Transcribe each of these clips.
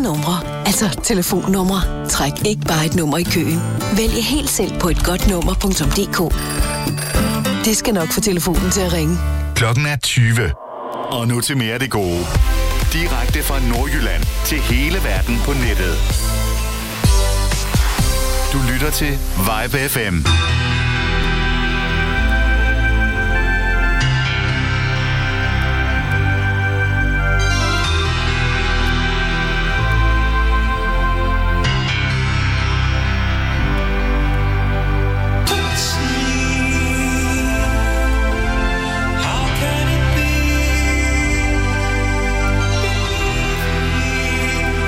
numre. Altså telefonnumre. Træk ikke bare et nummer i køen. Vælg helt selv på et godt nummer.dk. Det skal nok få telefonen til at ringe. Klokken er 20. Og nu til mere af det gode. Direkte fra Nordjylland til hele verden på nettet. Du lytter til Vibe FM.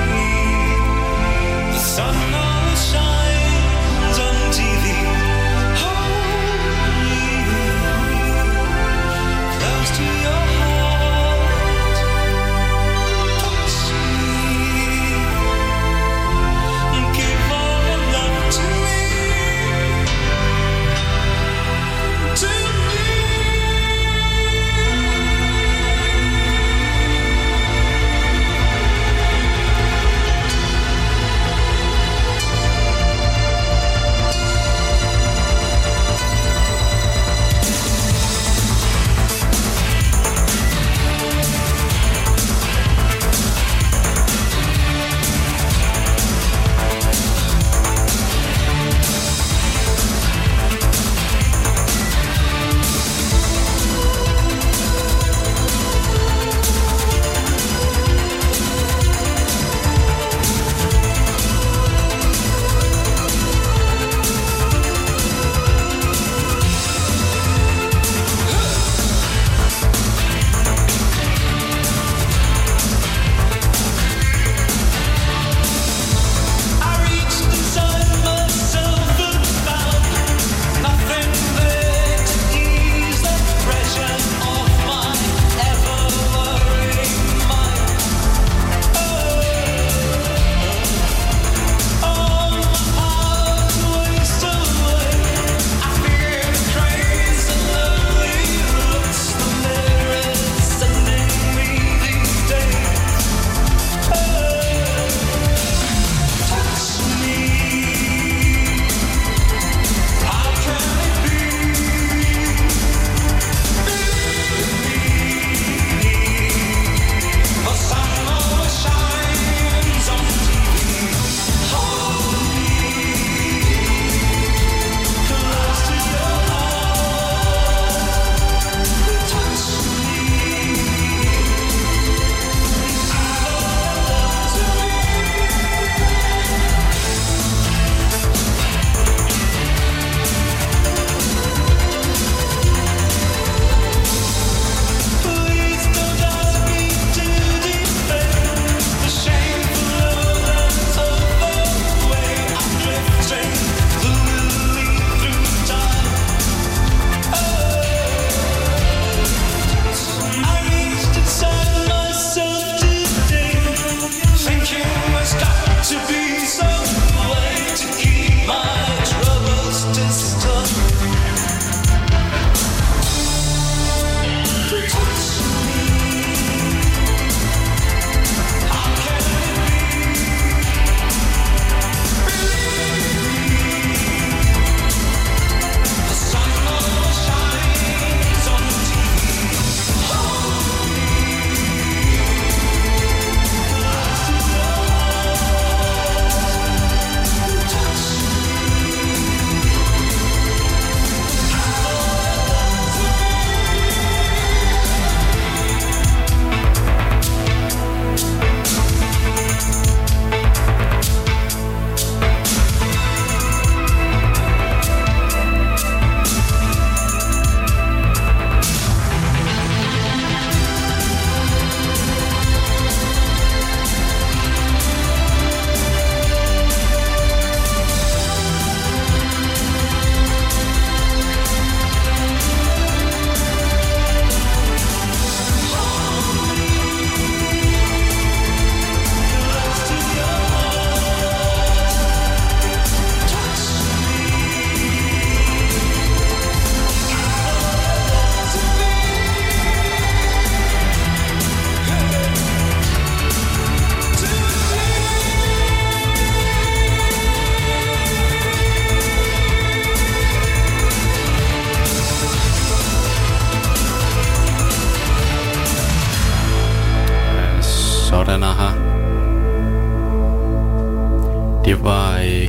Sun always shines on TV.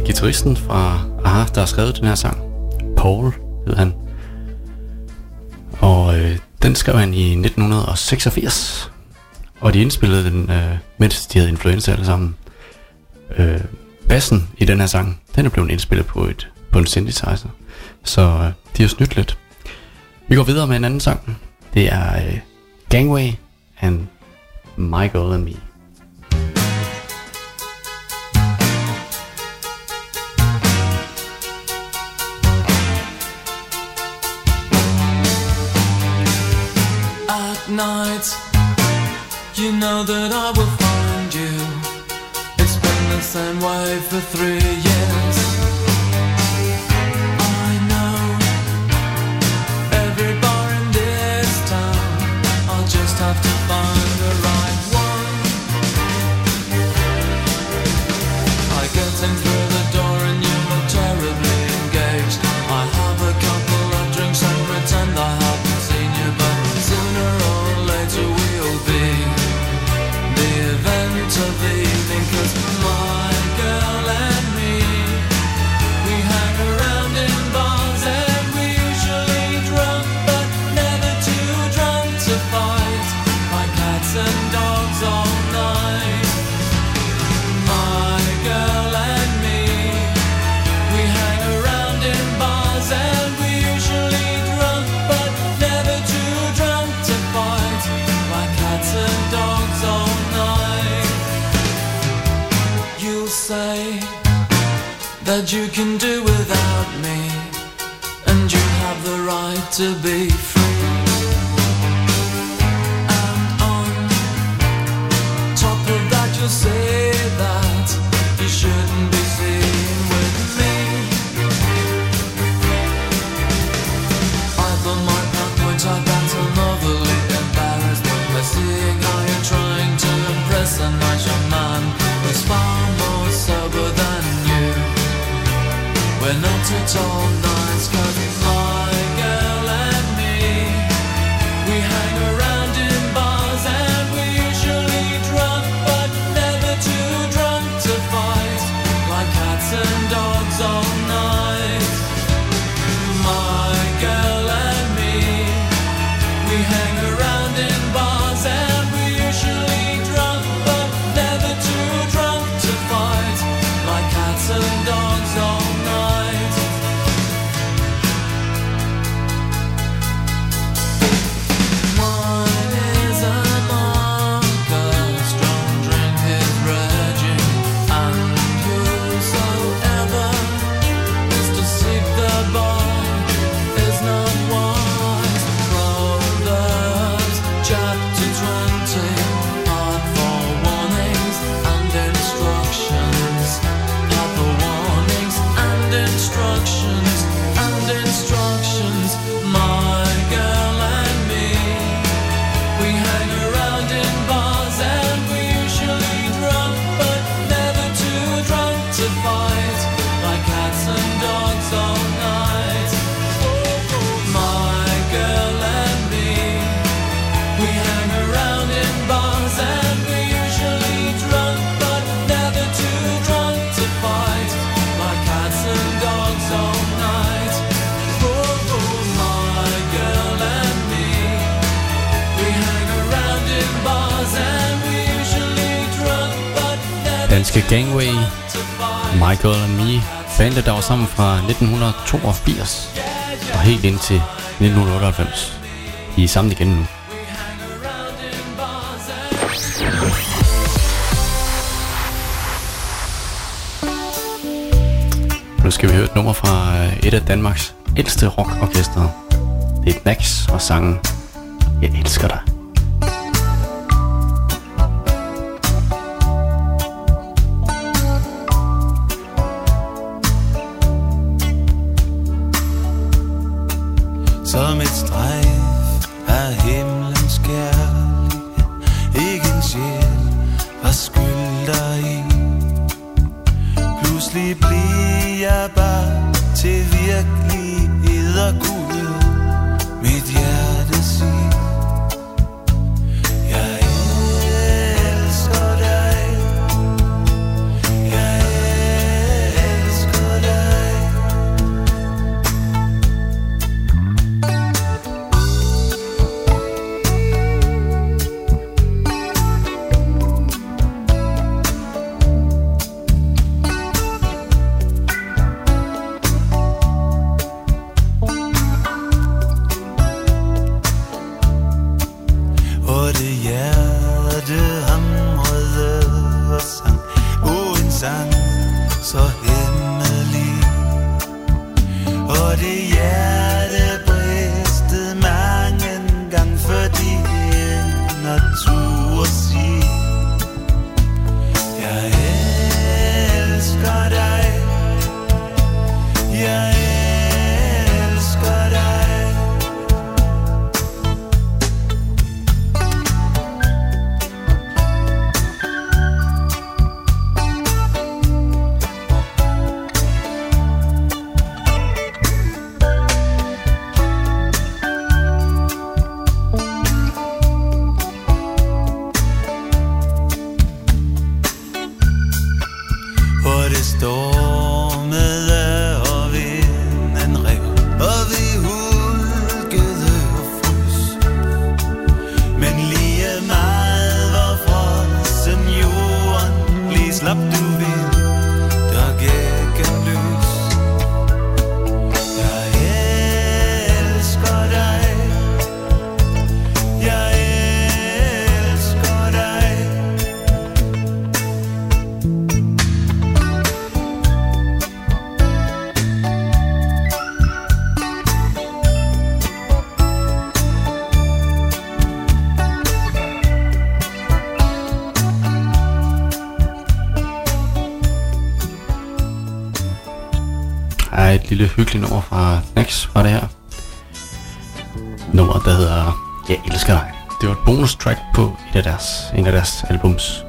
guitaristen fra Aha, der har skrevet den her sang. Paul hed han. Og den skrev han i 1986. Og de indspillede den, mens de havde influenza alle sammen. Bassen i den her sang, den er blevet indspillet på en synthesizer. Så de har snydt lidt. Vi går videre med en anden sang. Det er Gangway and My Girl and Me. At night, you know that I will find you. It's been the same way for 3 years. I know every bar in this town. I'll just have to find the right one. I get in through the door and you look terribly engaged. I have a couple of drinks and pretend I haven't seen you, but sooner or later we'll be the event of the evening. 'Cause my girl and me, we hang around in bars and we usually drunk, but never too drunk to fight, like cats and dogs all night. My girl and me, we hang around in bars and we usually drunk, but never too drunk to fight, like cats and dogs all night. You'll say that you can do without me, and you have the right to be free. And on top of that you'll say that you shouldn't be seen with me. I thought my point I got I'm overly embarrassed by seeing how you're trying to impress a nice young man who's far more sober than you. We're not at all nice, 'cause my girl and me, we hang around in bars and we usually drunk, but never too drunk to fight, like cats and dogs all night. My girl and me, we hang around in bars and we usually drunk, but never too drunk to fight, like cats and dogs all night. Wine is a marker, strong drink is raging, and whosoever is to seek the boy is not wise. Proverbs chapter 20, part for warnings and instructions. Part for warnings and instructions and instructions. My girl and me, we hang around in bars and we usually drunk, but never too drunk to fight, like cats and dogs all night. My girl and me, we hang around in bars and we usually drunk, but never too drunk to fight, like cats and dogs all night. My girl and me, we hang around in bars and we usually drunk, but never Danske Gangway, My Girl and Me. Bandet, der var sammen fra 1982 og helt indtil 1998. De er sammen igen nu. Nu skal vi høre et nummer fra et af Danmarks ældste rockorkestre. Det er Nax og sangen Jeg elsker dig. som et strejf af himlens kærlighed. Ikke en sjæl var skyld deri. Pludselig bliver jeg bare til virkelighed og Gud. Mit hjerte siger jeg elsker dig. Jeg elsker sang så hemmelig. Og det hjerte bristede mange gang, fordi en natur siger, jeg elsker dig, jeg elsker dig. Stormede og vinden rev, og vi hulkede og frys. Men lige meget var frossen jorden, lige slap du vind, der gik en lys. Jeg elsker dig, jeg elsker dig. Et lille hyggeligt nummer fra Knax var det her. Nummer, der hedder Jeg elsker dig. Det var et bonus track på en af deres albums.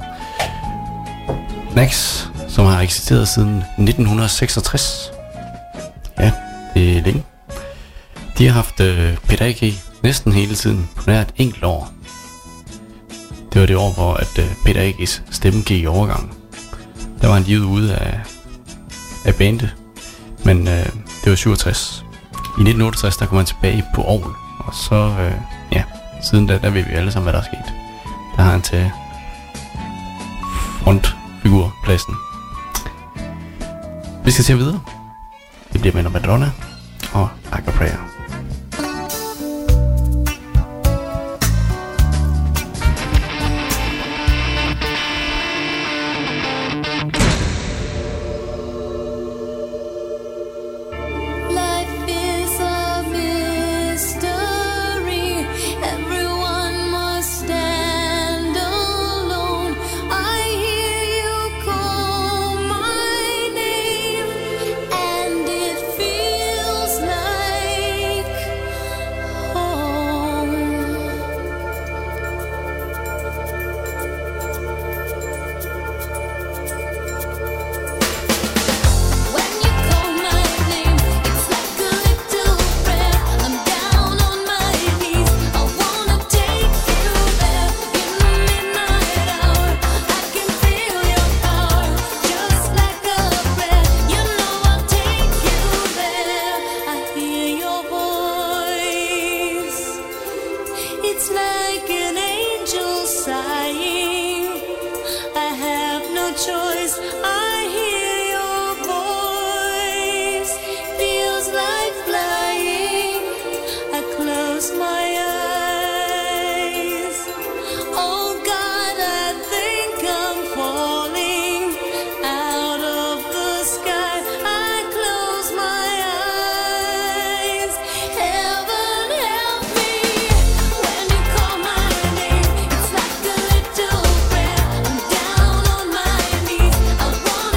Knax, som har eksisteret siden 1966. Ja, det er længe. De har haft Peter A.G. næsten hele tiden på nær et enkelt år. Det var det år, hvor at Peter A.G.'s stemme gik i overgang. Der var han livet ude af bandet. Men det var 67. I 1968 der kom han tilbage på orgel. Og så, siden da, der ved vi alle sammen, hvad der er sket. Der har han til frontfigurpladsen. Vi skal se videre. Det bliver med Madonna og Like a Prayer. I want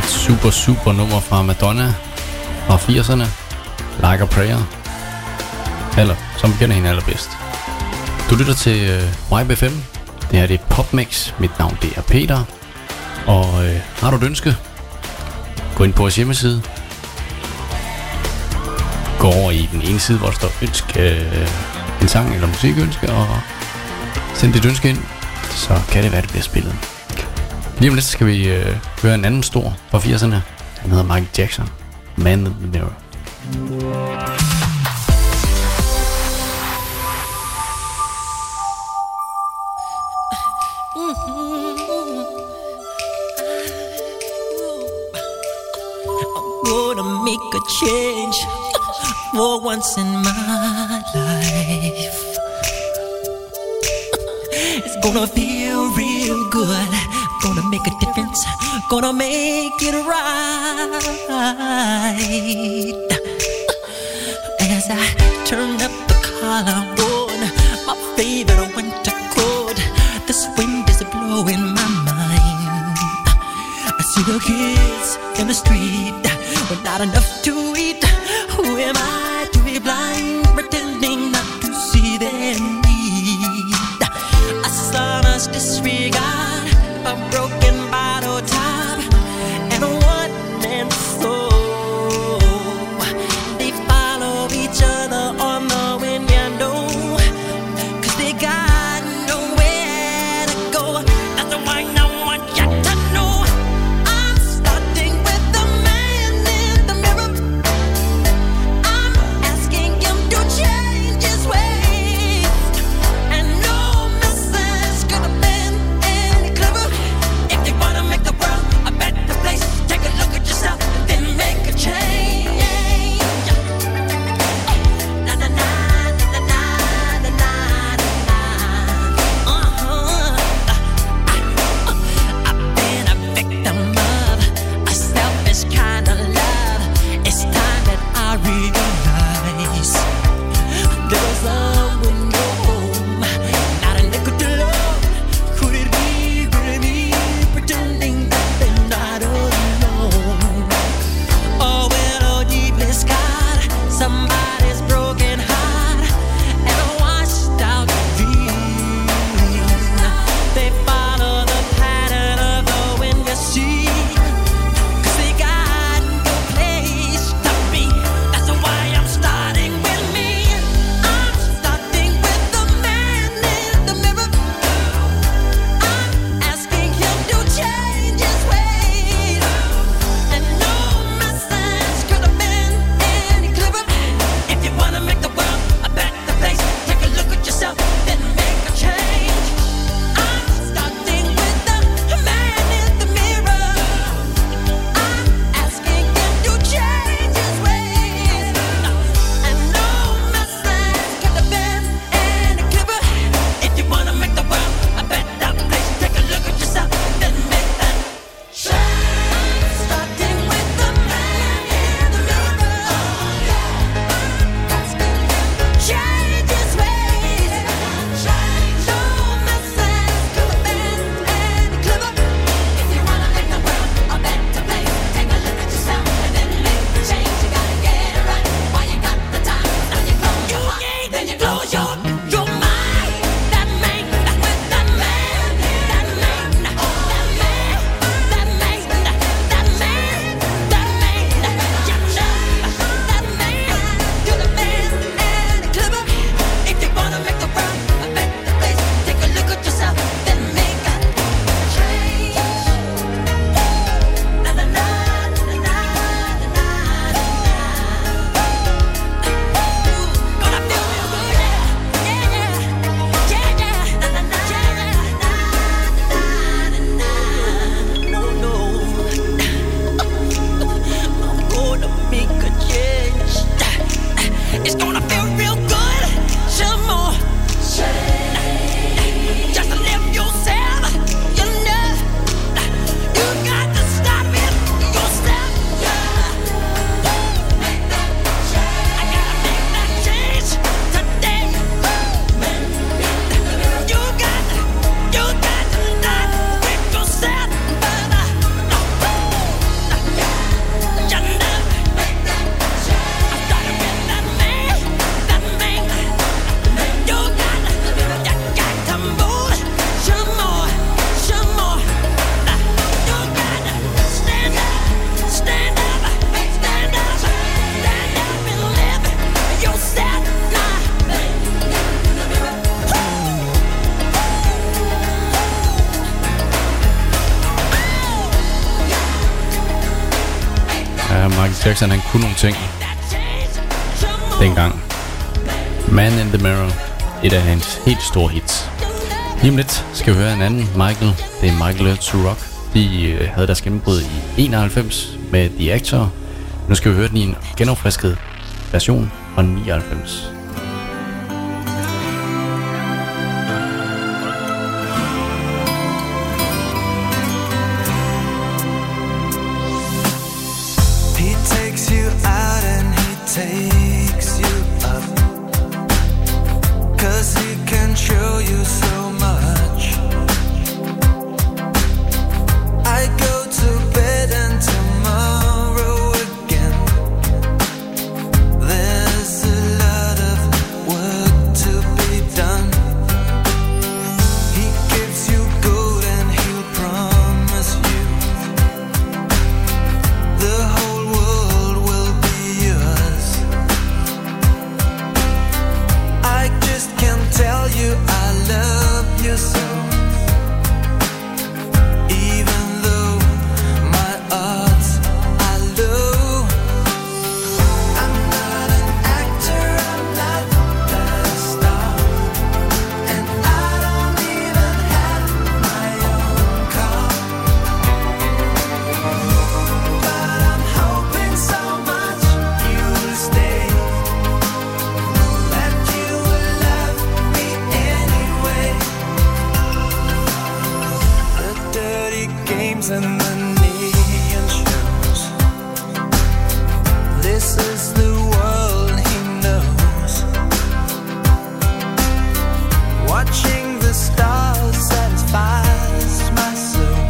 Et super nummer fra Madonna fra 80'erne. Like a Prayer. Eller, som kender hende allerbedst. Du lytter til YBFM. Det her det er PopMix. Mit navn det er Peter. Og har du et ønske? Gå ind på vores hjemmeside. Gå over i den ene side, hvor der står ønske en sang eller musikønske, og send dit ønske ind, så kan det være, det bliver spillet. Lige om lidt skal vi høre en anden stor fra 80'erne. Han hedder Michael Jackson. Man in the Mirror. Gonna make a change for once in my life. It's gonna feel real good. Gonna make a difference. Gonna make it right. As I turn up the collar on my favorite winter coat, this wind is blowing my mind. I see the kids in the street with not enough to eat. Who am I to be blind, pretending not to see their need? A sonorous disregard, a broken bottle top, and a one-man soul. They follow each other on the wind, you know, 'cause they got nowhere to go. That's why I want you to know I'm starting with the man in the mirror. I'm asking him to change his ways, and no message could have been any Michael Jackson, han kunne nogle ting dengang. Man in the Mirror, et af hans helt store hits. Lige om lidt skal vi høre en anden Michael. Det er Michael Learns to Rock. De havde deres gennembrud i 91 med The Actor. Nu skal vi høre den i en genopfrisket version fra 99. He takes you out and he takes you up, 'cause he can show you so much. I go to bed and tomorrow again. There's a lot of work to be done. He gives you gold and he'll promise you the whole world will be yours. I just can't tell you I love you so, even though my odds are low. I'm not an actor, I'm not a star, and I don't even have my own car. But I'm hoping so much you'll stay, that you will love me anyway. The dirty games and the neon shows, this is the world he knows. Watching the stars satisfies my soul.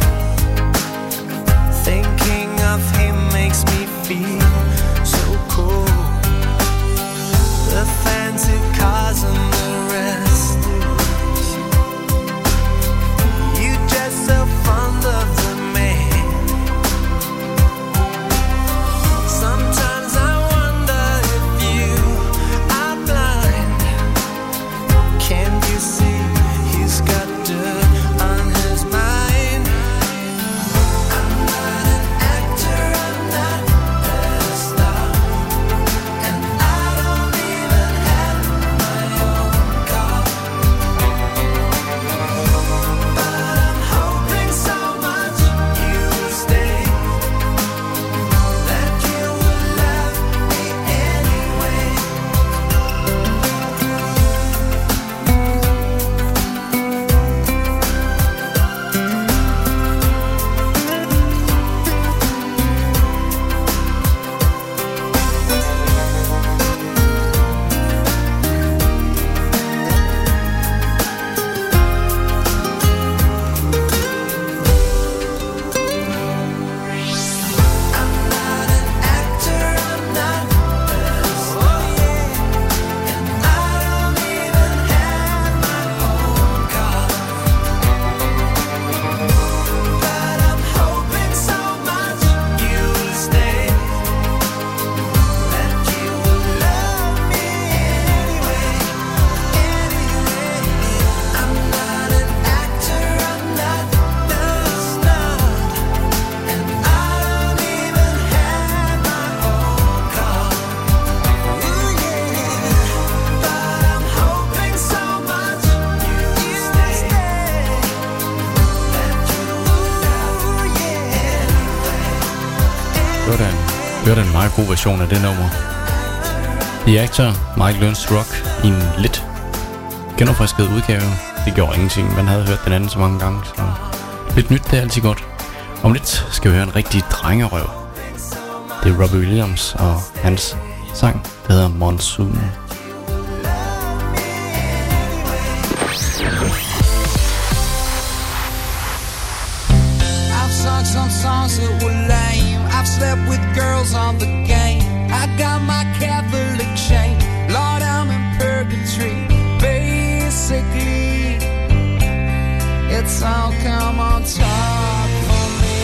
Thinking of him makes me feel so cool. The fancy cars and the restaurants, you just so fond of the man. Sometimes I wonder if you are blind. Can't you see he's got dirt on his mind? I'm not an actor, I'm not a star, and I don't even have my own car. But I'm hoping so much you'll stay, that you will love me anyway. I'm not an actor, I'm not a star, and I don't even have my own car. But I'm hoping so much you'll stay, that you will love me anyway. I'm not an actor, I'm not a star, and I don't even have my own car. But I'm hoping so much you'll stay, that you will love me anyway. Det var da en meget god version af det nummer. The Actor, Michael Learns to Rock, i en lidt genopfrisket udgave. Det gjorde ingenting, man havde hørt den anden så mange gange, så lidt nyt, det er altid godt. Om lidt skal vi høre en rigtig drengerøv. Det er Robbie Williams og hans sang, der hedder Monsoon. I've sung some songs that were lame. I've slept with girls on the game. I got my Catholic chain. Lord, I'm in purgatory. Basically, it's all come on top for me.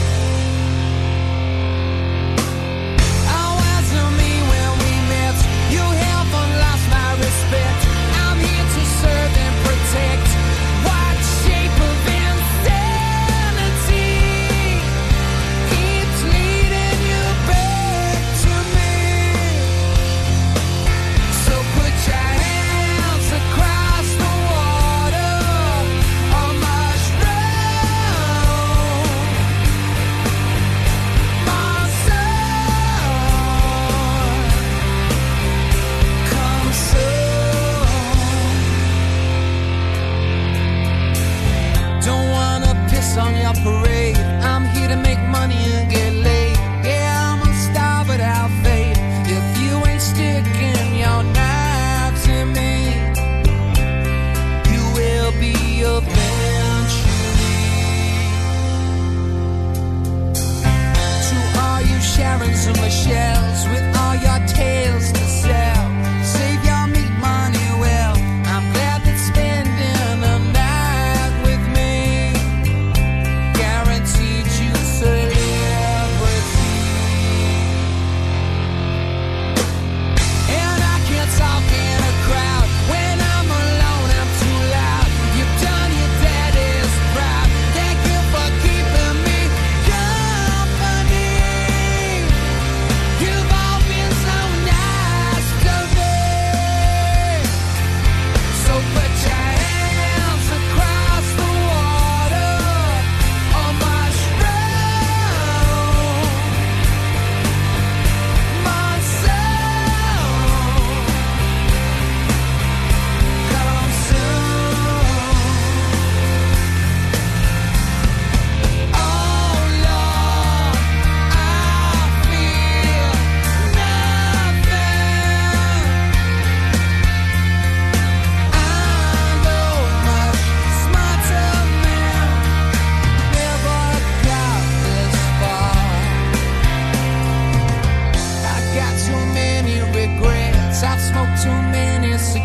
Oh, answer me when we met. You haven't lost my respect. I'm here to serve and protect. What shape of insanity keeps leading you back?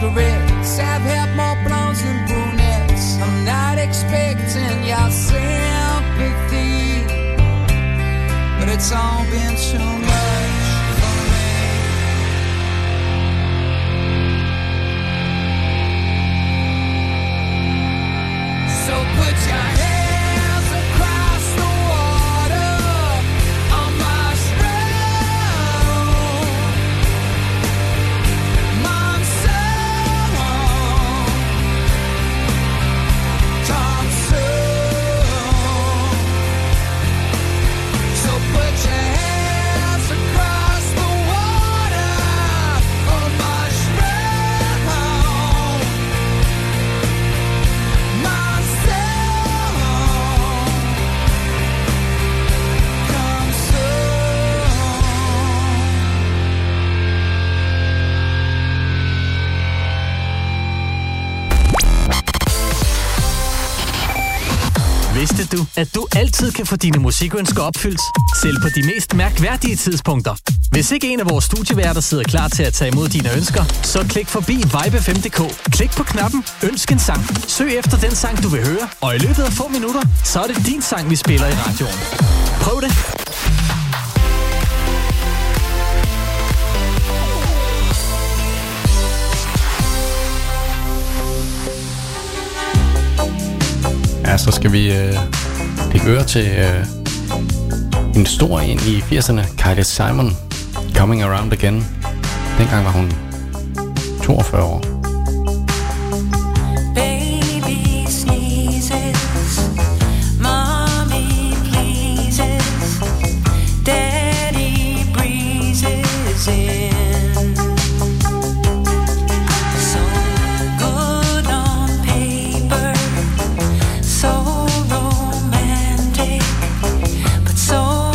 masquerades have had more blondes than brunettes. I'm not expecting your sympathy, but it's all been too much for me. So put your hands across the water on my stroke. Monsoon, come soon. So put your hands across the water on my stroke. Monsoon, come soon. Vidste du, at du altid kan få dine musikønsker opfyldt, selv på de mest mærkværdige tidspunkter? Hvis ikke en af vores studieværter sidder klar til at tage imod dine ønsker, så klik forbi vibe5.dk. Klik på knappen Ønsk en sang. Søg efter den sang, du vil høre, og i løbet af få minutter, så er det din sang, vi spiller i radioen. Prøv det! Ja, så skal vi lægge øre til en stor en i 80'erne, Kylie Simon, Coming Around Again. Dengang var hun 42 år. Baby sneezes, mommy pleases, daddy breezes in. So good on paper, so romantic, but so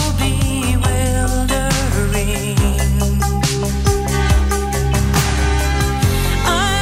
bewildering. I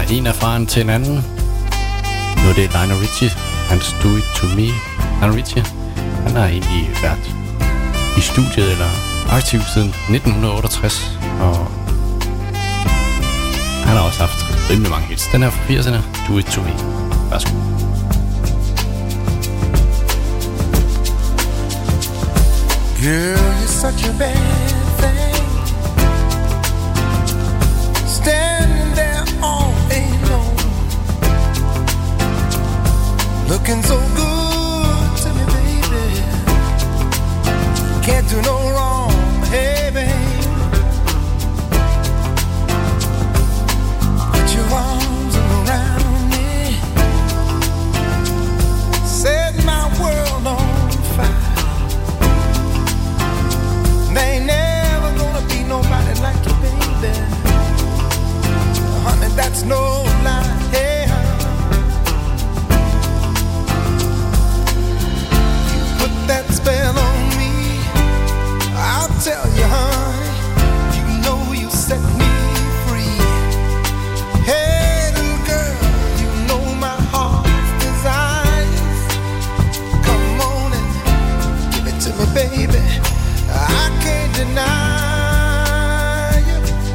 en erfaren til en anden. Nu er det Lionel Richie. Hans Do It To Me. Lionel Richie, han har egentlig været i studiet eller aktiv siden 1968. Og han har også haft rimelig mange hits. Den her fra 80'erne, Do It To Me. Værsgo. Girl, you're such a bad thing, standing there all alone, looking so good to me, baby. Can't do no wrong, hey, babe. Put your arms around me, set my world on fire. There ain't never gonna be nobody like you, baby. Honey, that's no lie. Hey, you put that spell on me. I'll tell you, honey, you know you set me free. Hey, little girl, you know my heart's desires. Come on and give it to me, baby. I can't deny you.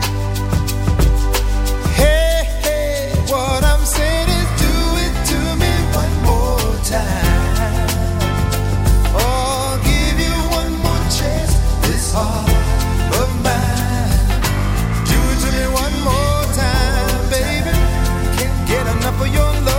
Hey, hey, what I'm saying is do it to me one more time. Oh, give you one more chance, this heart of mine. Do it to me one more time, baby. Can't get enough of your love.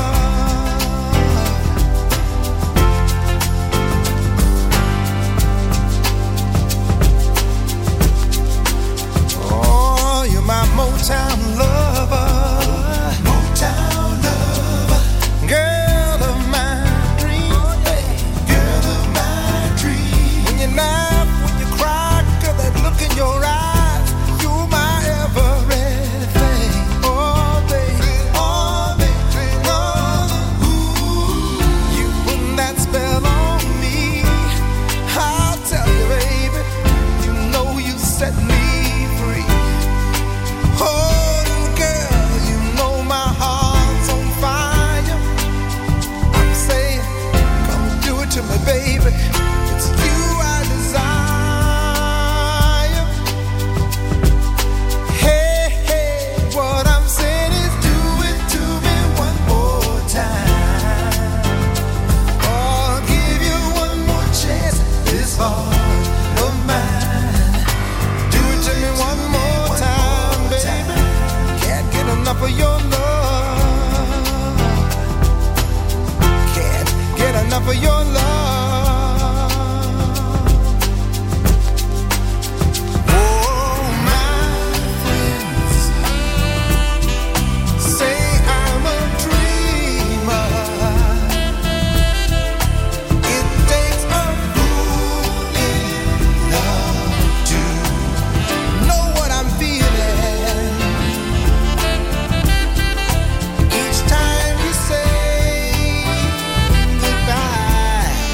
My Motown lover, Motown lover, girl of my dreams, girl of my dreams. When you laugh, when you cry, girl, that look in your eyes, you're my everything. Oh, baby, oh, baby, oh, ooh, you put that spell on me. I'll tell you, baby, you know you set me. Oh, girl, you know my heart's on fire. I'm saying, come do it to me, baby. It's you I desire. Hey, hey, what I'm saying is do it to me one more time. Oh, I'll give you one more chance, this heart of mine. Do it to me one more time, baby. Can't get enough of your love. Can't get enough of your love. Oh, my friends say I'm a dreamer. It takes a fool in love to know what I'm feeling. Each time you say goodbye,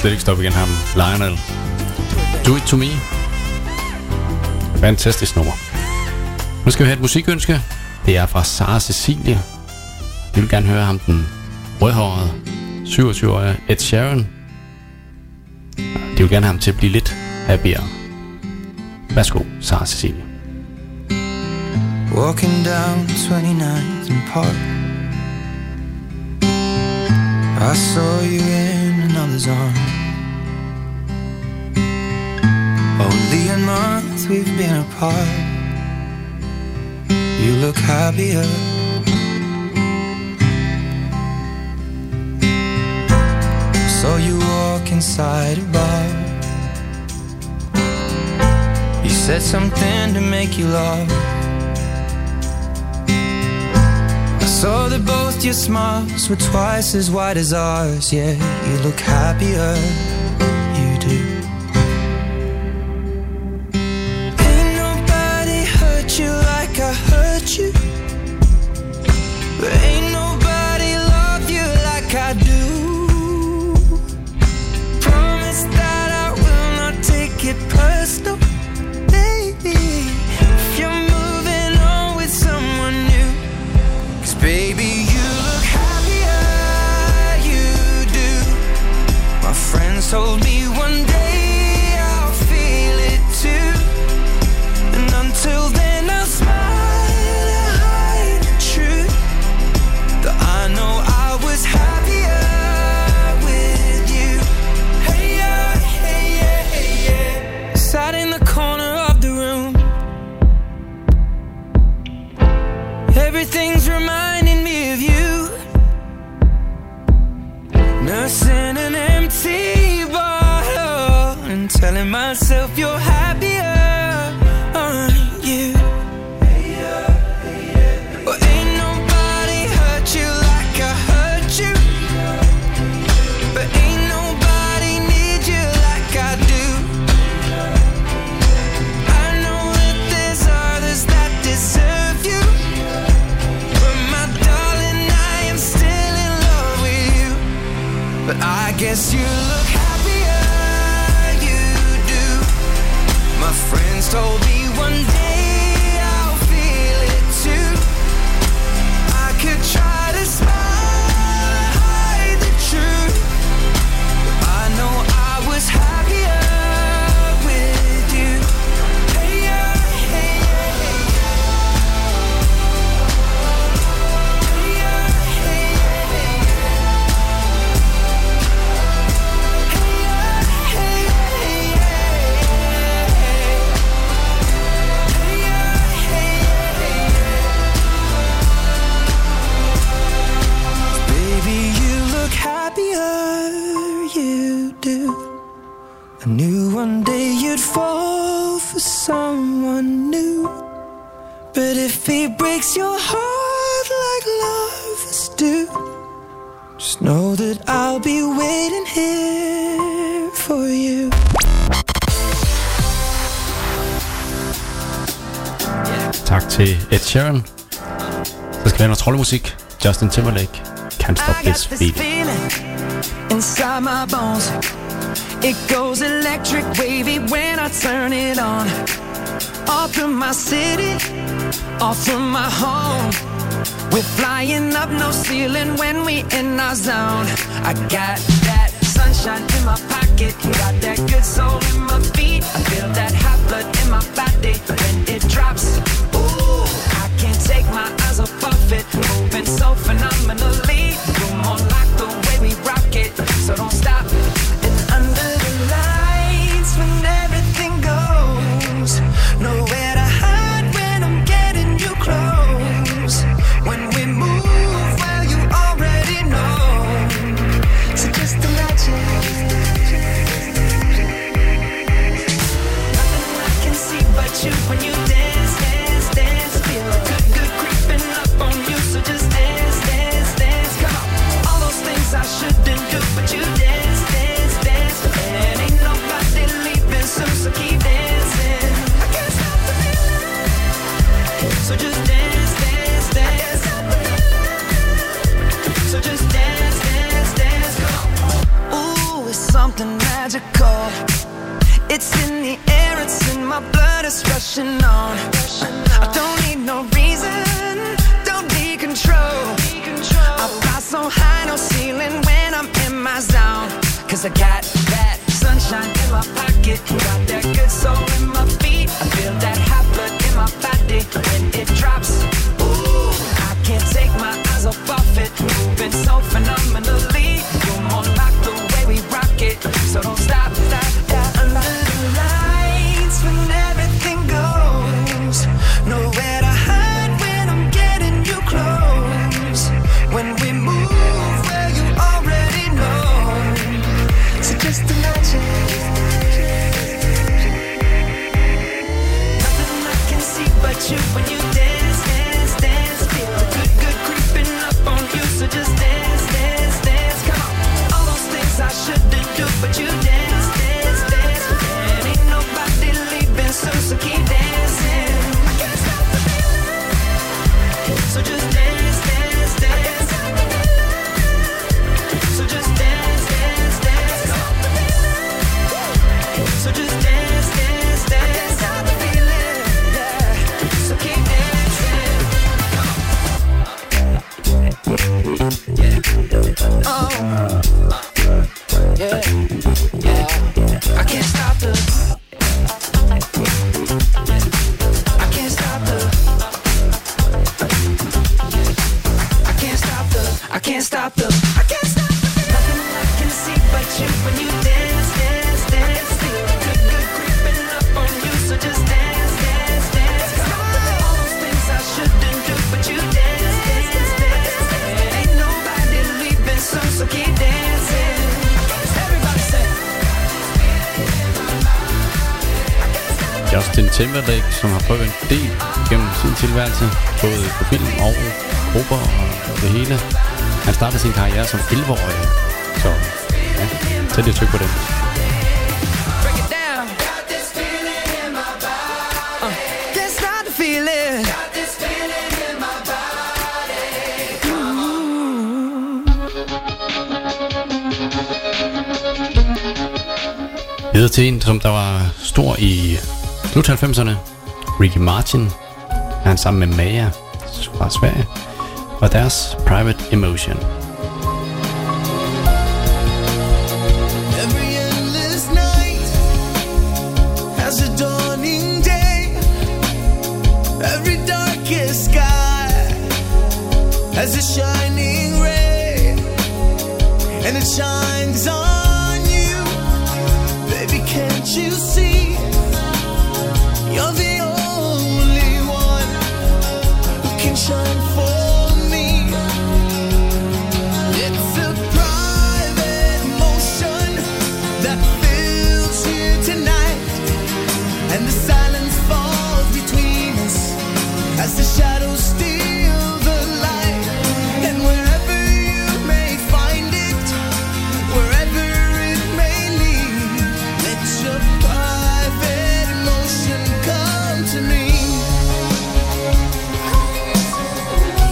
slet ikke stoppe igen ham. Lionel. Do It To Me. Fantastisk nummer. Nu skal vi have et musikønske. Det er fra Sara Cecilie. Vi vil gerne høre ham, den rødhårede 27-årige Ed Sheeran. De vil gerne have ham til at blive lidt happier. Værsgo, Sara Cecilie. Walking down 29th and Park, I saw you in another's arm. Only a month we've been apart. You look happier. Saw you walk inside a bar. You said something to make you laugh. I saw that both your smiles were twice as wide as ours. Yeah, you look happier, you do. Ain't nobody hurt you like I hurt you, but ain't nobody love you like I do. Promise that I will not take it personal, baby, if you're moving on with someone new. 'Cause baby, you look happier, you do. My friends told me one day I'll feel it too, and until then I'll smile and hide the truth, that I know I was happier with you. Hey yeah, hey yeah, hey yeah. Sat in the corner of the room, everything's reminding me of you. Nursing an empty bottle and telling myself you're happier, aren't you? Well, ain't nobody hurt you like I hurt you, but ain't nobody need you like I do. I know that there's others that deserve you, but my darling, I am still in love with you. But I guess you look happier, you do. My friends told me one day I'll feel it too. I could try to smile, hide the truth, but I know I was happier with you. Hey yeah, hey yeah, hey yeah. Hey yeah, hey yeah, hey yeah. Hey yeah, hey yeah, hey yeah. Hey yeah, hey yeah. Baby, you look happier, you do. I knew one day you'd fall for someone new, but if he breaks your heart like lovers do, just know that I'll be waiting here for you. Tak til Ed Sheeran. Så skal vi have noget troldemusik. Justin Timberlake. Can't Stop I got This this Beat. feeling inside my bones. It goes electric wavy when I turn it on. All through my city, all through my home. We're flying up, no ceiling when we in our zone. I got that sunshine in my pocket, got that good soul in my feet. I feel that hot blood in my body when it drops. Ooh, I can't take my eyes off of it, moving so phenomenally. You're more like the way we rock it, so don't stop. And under the lights when everything goes, nowhere to hide when I'm getting you close. When we move, well you already know, so just imagine. Nothing I can see but you when you dance, dance, dance. Feel good, good creeping up on you, so just dance, dance, dance. Come on, all those things I shouldn't do, but you dance, dance, dance. And ain't nobody leaving soon, so keep dancing. I can't stop the feeling, so just dance, dance, dance. So just dance, dance, dance. Come on. Ooh, it's something magical. It's in the air, it's in my blood, it's rushing on. I don't need no reason, don't need control. I fly so high, no ceiling when I'm in my zone. Cause I got that sunshine in my pocket, got that good soul in my feet. I feel that hot blood in my body when it drops. Ooh, I can't take my eyes off of it, moving so phenomenally. You're more like the way we rock it, so don't stop, stop, stop. Under the lights when everything goes, nowhere to hide when I'm getting you close. When we move where you already know, so just imagine. Nothing I can see but you when you dance, dance, dance. Feel the good, good creeping up on you, so just dance, dance, dance. Come on, all those things I shouldn't do, but you dance, dance, dance. And ain't nobody leaving soon, so keep dancing. I can't stop the feeling, so just dance, dance, dance. So just dance, dance, dance. So just dance, dance, dance. Stop the feeling, yeah. So keep dancing. Yeah. Oh. Yeah. Yeah. I can't stop the. I can't stop the. I can't stop the. I can't stop the. I can't stop the. Nothing I can see but you when you dance, dance, dance. Feel the good, good creeping up on you, so just dance, dance, dance. All those things I shouldn't do, but you dance, dance, dance. And ain't nobody leaving soon, so keep dancing. Everybody say. Justin Timberlake, som har prøvet en del gennem sin tilværelse, både på film og grupper og det hele. Han startede sin karriere som 11-årig, så ja, tæt et tryk på det. Break it down. Got this feeling in my body. Can't stop the feeling. Got this feeling in my body. Videre til en, som der var stor i slut 90'erne. Ricky Martin. Han sammen med Maja fra Sverige. Og deres Private Emotion. Every endless night has a dawning day. Every darkest sky has a shining ray, and it shines on you. Baby, can't you see? You're the only one who can shine for me. It's a private emotion that fills you tonight, and the silence falls between us as the shadows steal the light. And wherever you may find it, wherever it may lead, let your private emotion come to me.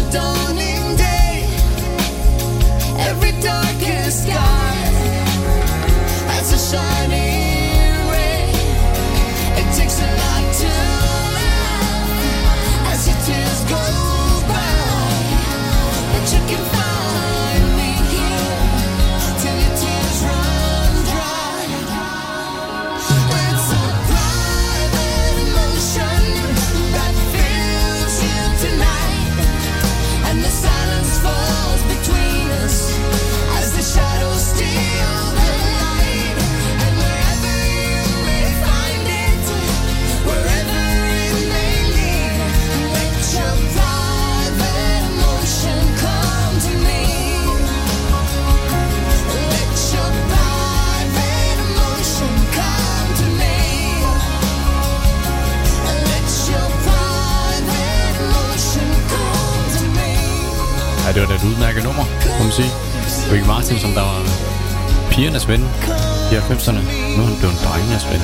dawning day. Every darkest sky has a shining ray. It takes a lot to laugh as your tears go by, but you can find me here till your tears run dry. It's a private emotion that fills you tonight, and the silence falls between us as the shadows steal the light. And wherever you may find it, wherever it may lead, let your private emotion come to me. Let your private emotion come to me. Let your private emotion come to me. Ja, det var da et udmærket nummer, må man sige. Ricky Martin, som der var pigernes ven i 90'erne. Nu er han blevet drengenes ven.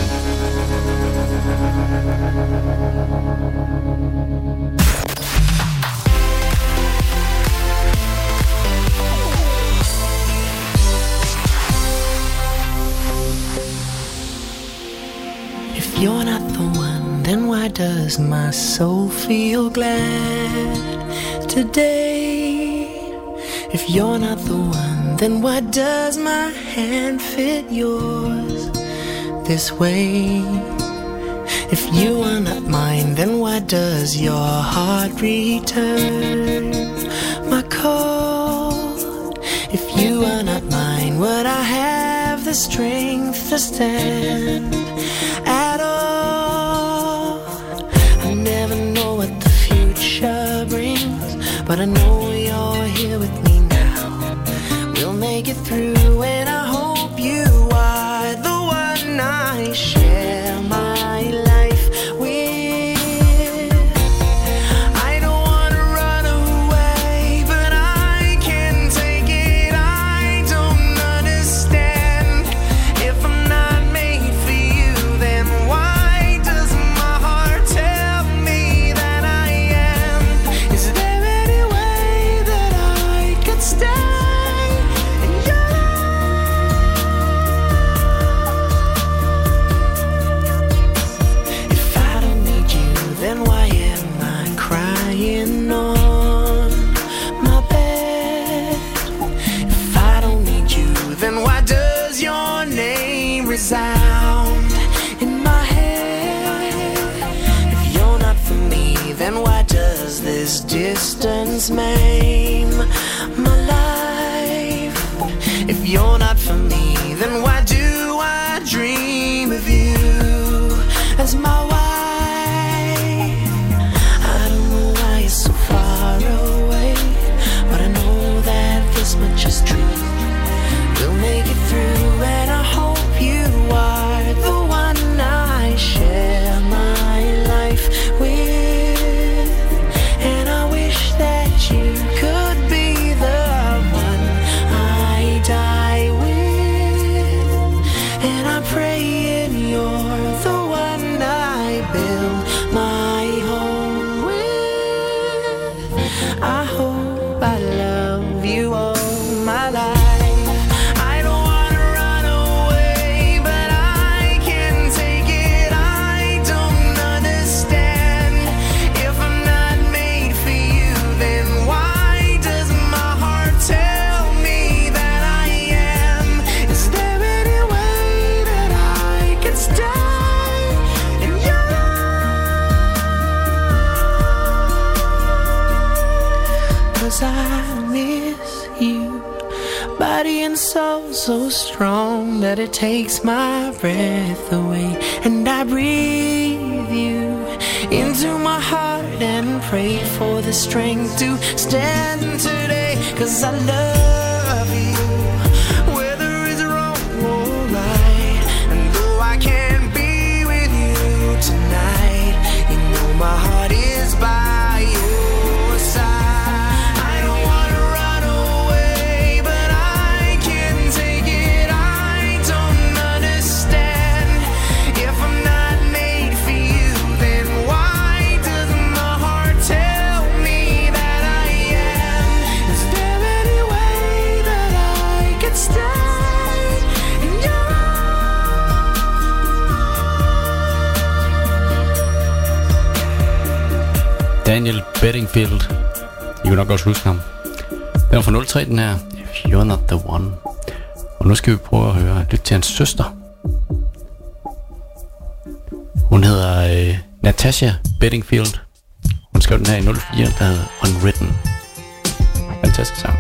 If you're not the one, then why does my soul feel glad today? If you're not the one, then why does my hand fit yours this way? If you are not mine, then why does your heart return my call? If you are not mine, would I have the strength to stand at all? I never know what the future brings, but I know you're here with me now. We'll make it through, and I hope you are the one I share my life with. I don't wanna run away, but I can't take it. I don't understand. If I'm not made for you, then why does my heart tell me that I am? Is there any way that I could stay in your life? If I don't need you, then why am I crying on my bed? If I don't need you, then why does your name resound in my head? If you're not for me, then why does this distance maim my life? If you're not for me, then why do I dream of you as my wife? I don't know why you're so far away, but I know that this much is true. We'll make it through, and I hope you are the one I share my life with. And I wish that you could be the one I die with. And I'm praying you're the one I build my home with. I hope I love you all my life. I don't wanna run away, but I can't take it. I don't understand. If I'm not made for you, then why does my heart tell me that I am? Is there any way that I could stay in your life? 'Cause I miss you, body and soul so strong that it takes my breath away. And I breathe you into my heart and pray for the strength to stand today. 'Cause I love you, whether it's wrong or right. And though I can't be with you tonight, you know my heart is by your side. I don't wanna run away, but I can't take it. I don't understand. If I'm not made for you, then why does my heart tell me that I Daniel Bedingfield. I kan nok også huske ham. Den er fra 03, den her. If you're not the one. Og nu skal vi prøve at lytte til hans søster. Hun hedder Natasha Bedingfield. Hun skrev den her i 04, der hedder Unwritten. Fantastisk sang.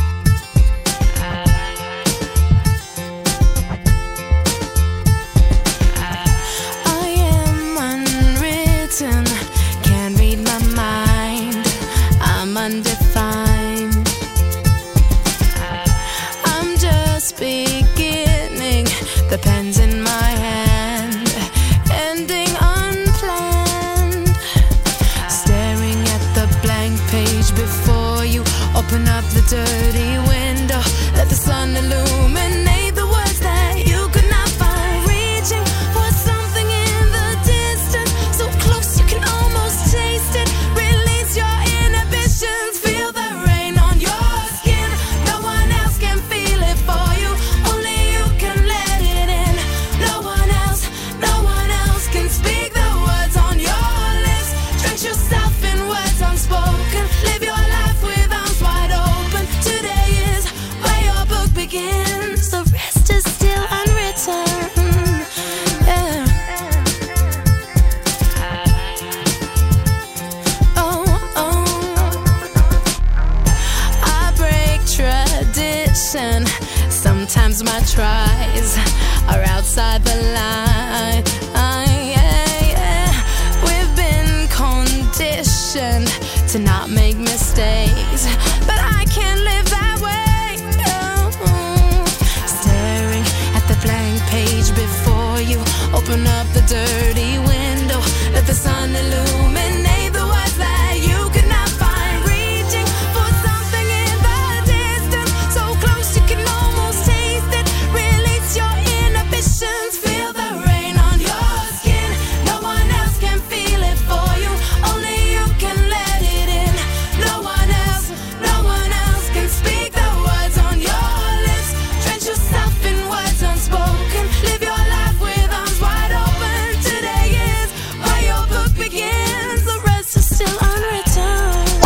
Can't read my mind, I'm undefined. I'm just beginning, the pen's in my hand, ending unplanned. Staring at the blank page before you, open up the dirty window, let the sun illuminate the words that you could not find. Reaching for something in the distance, so close you can almost taste it. Release your inhibitions, feel the rain on your skin. No one else can feel it for you, only you can let it in. No one else can speak the words on your lips. Drench yourself in words unspoken, live your life with arms wide open. Today is where your book begins, the rest is still unwritten. Yeah. I break tradition. Sometimes my tries are outside the line. We've been conditioned to not make mistakes, but I can't live that way. Staring at the blank page before you, open up the dirty window, let the sun illuminate the words that you could not find. Reaching for something in the distance, so close you can almost taste it. Release your inhibitions, feel the rain on your skin. No one else can feel it for you, only you can let it in. No one else can speak the words on your lips. Drench yourself in words unspoken, live your life with arms wide open. Today is where your book begins, the rest is still unwritten.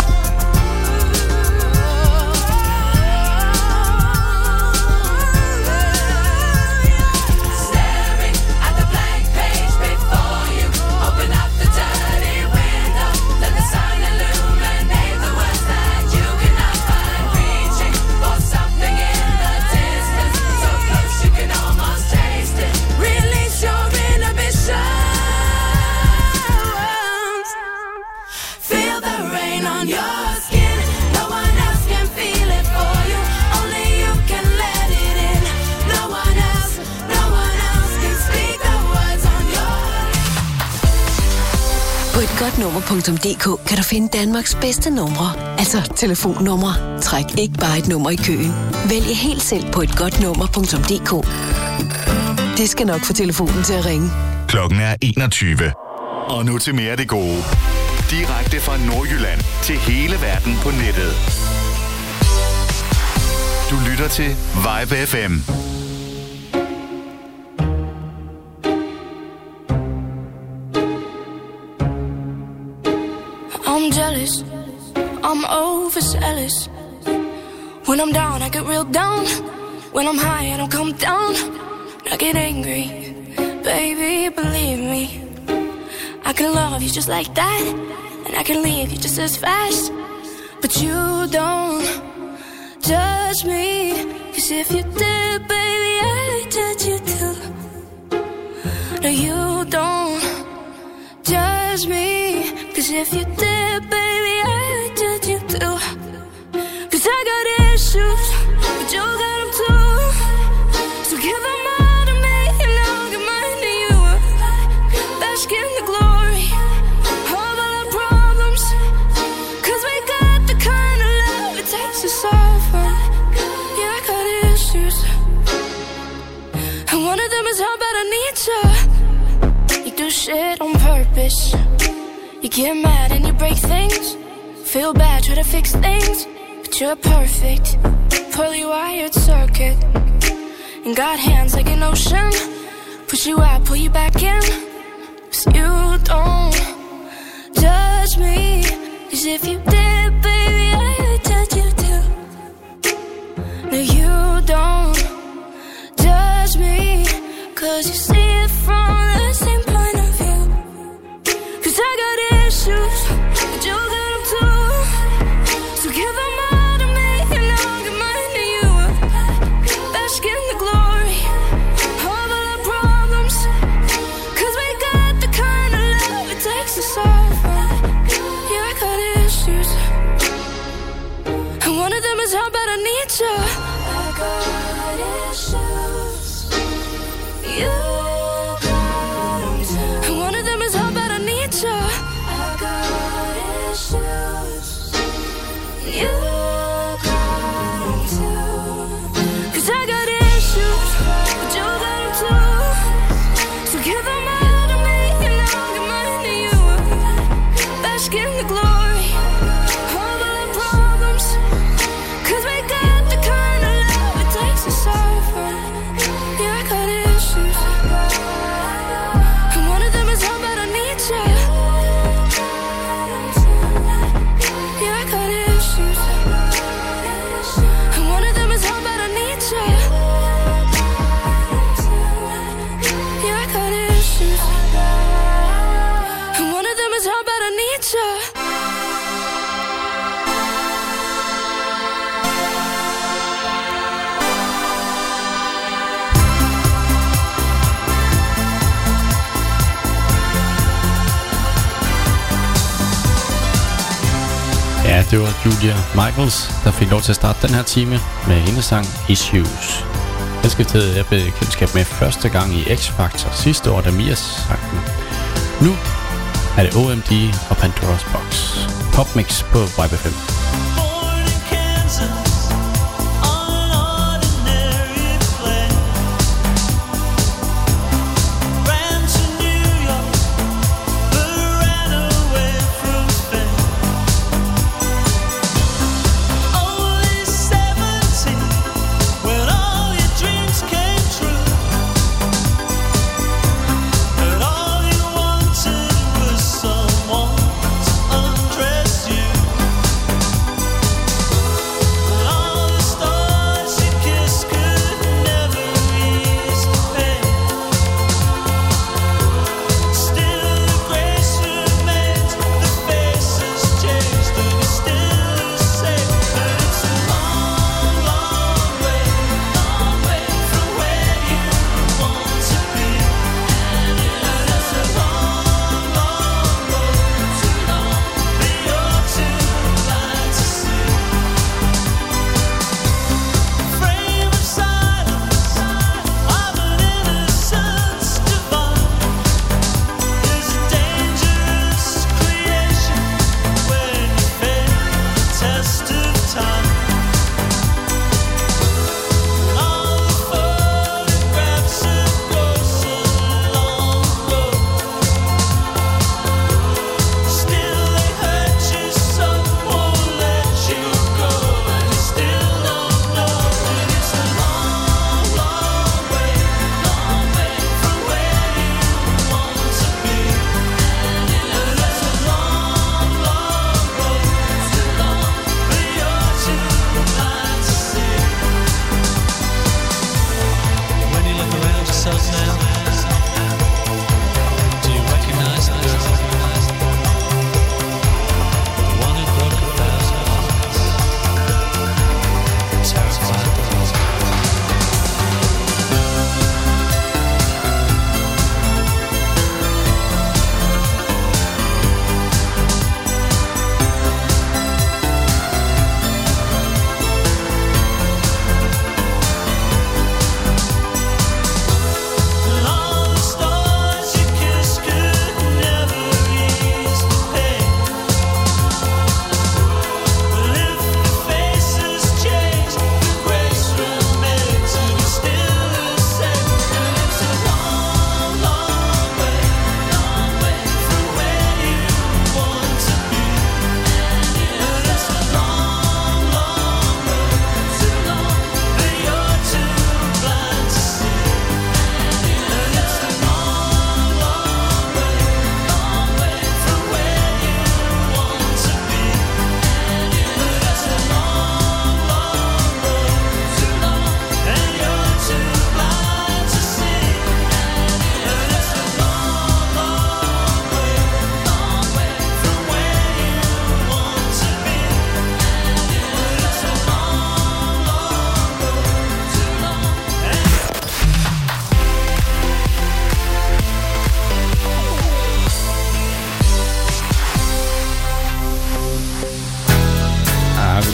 Staring at the blank page before you, open up the dirty window, let the sun illuminate the words that you cannot find. Reaching for something in the distance, so close you can almost taste it. Release your inhibitions, feel the rain on your skin. No one else can feel it for you, only you can let it in. No one else can speak the words on your lips. På et godtnummer.dk kan du finde Danmarks bedste numre, altså telefonnumre. Træk ikke bare et nummer i køen. Vælg helt selv på et godtnummer.dk. Det skal nok få telefonen til at ringe. Klokken er 21. Og nu til mere af det gode. Direkte fra Nordjylland til hele verden på nettet. Du lytter til Vibe FM. I'm jealous, I'm overzealous. When I'm down, I get real down. When I'm high, I don't come down. I get angry, baby, believe me. I can love you just like that, and I can leave you just as fast. But you don't judge me, 'cause if you did, baby, I'd judge you too. No, you don't judge me, 'cause if you did, baby, I'd judge you too. 'Cause I got issues, but you got them too. So give them all to me, and I'll give mine to you. Bask in the glory of all our problems, 'cause we got the kind of love it takes to suffer. Yeah, I got issues, and one of them is how bad I need you. You do shit on purpose. You get mad and you break things. Feel bad, try to fix things, but you're perfect. Poorly wired circuit, and got hands like an ocean. Push you out, pull you back in. 'Cause you don't judge me, 'Cause if you did, baby, I would touch you too. No, you don't judge me, 'cause you see it from the same point of view. 'Cause I got issues, but you got them too. So give them all to me and I'll give mine to you. Bask in the glory of all our problems, 'cause we got the kind of love it takes to solve them. Yeah, I got issues, and one of them is how bad I need you. I got issues, you got them too. And one of them is how bad I need you. I got issues, you got them too. 'Cause I got issues, but you got them too. So give them all to me and I'll give mine to you. Bask in the glory of all our problems, 'cause we got the kind of love it takes to solve them. Yeah, I got issues, and one of them is how bad I need you. Yeah, I got issues, and one of them is how bad I need you. Yeah, I got issues, and one of them is how bad I need you. Ja, det var Julia Michaels, der fik lov til at starte den her time med hendes sang Issues. Jeg skiftede jeg bekendtskab med første gang i X-Factor sidste år, da Mia sang den. Nu er det OMD og Pandora's Box. Popmix på Vibe FM. Born in Kansas on an ordinary plane, ran to New York but ran away from fame. Only 17 when all your dreams came true, but all you wanted was someone to undress you.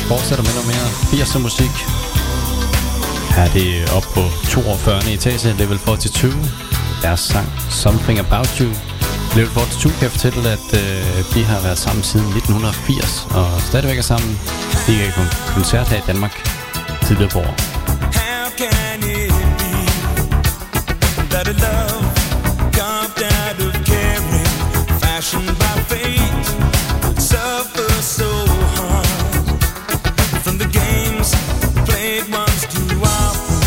fortsætter med noget mere 80'er musik. Her er det op på 42. etage, level 42. Deres sang Something About You. Level 42 kan jeg fortælle, at de har været sammen siden 1980 og stadigvæk er sammen. De gik på koncert her i Danmark tidligere på år. How can it be that a love carved out of caring, fashioned by fate, suffers so hard from the games played once too often,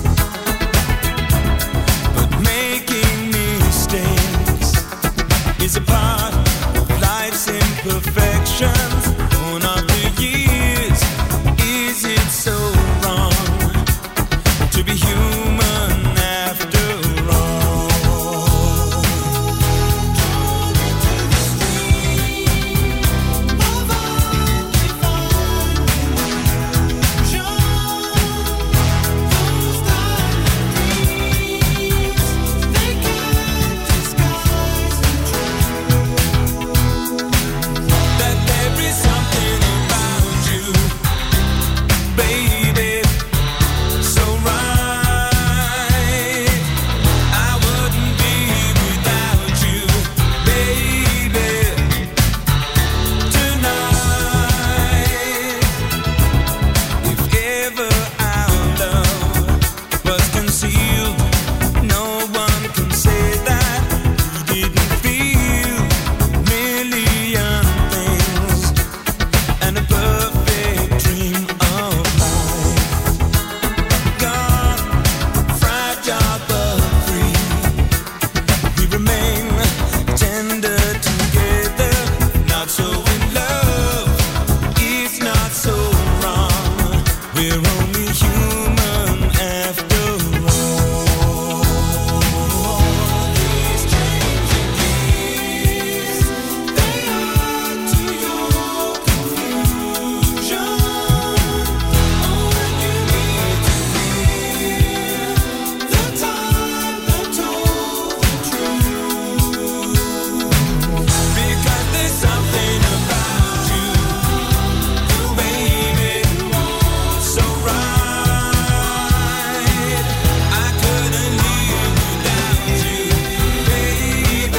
but making mistakes is a part of life's imperfections. One of the years, is it so wrong to be human after all? That there is something about you, baby, so right. I wouldn't be without you, baby, tonight. If ever our love was concealed, no one can say that we didn't feel a million things and a perfect dream of life. Gone, fragile but free, we remain tender together. Not so in love, it's not so wrong. We're only human after all. These changing keys, they add to your confusion. Oh, when you need to hear the time that told the truth. Because there's something about you, baby, so right. I couldn't live without you, baby,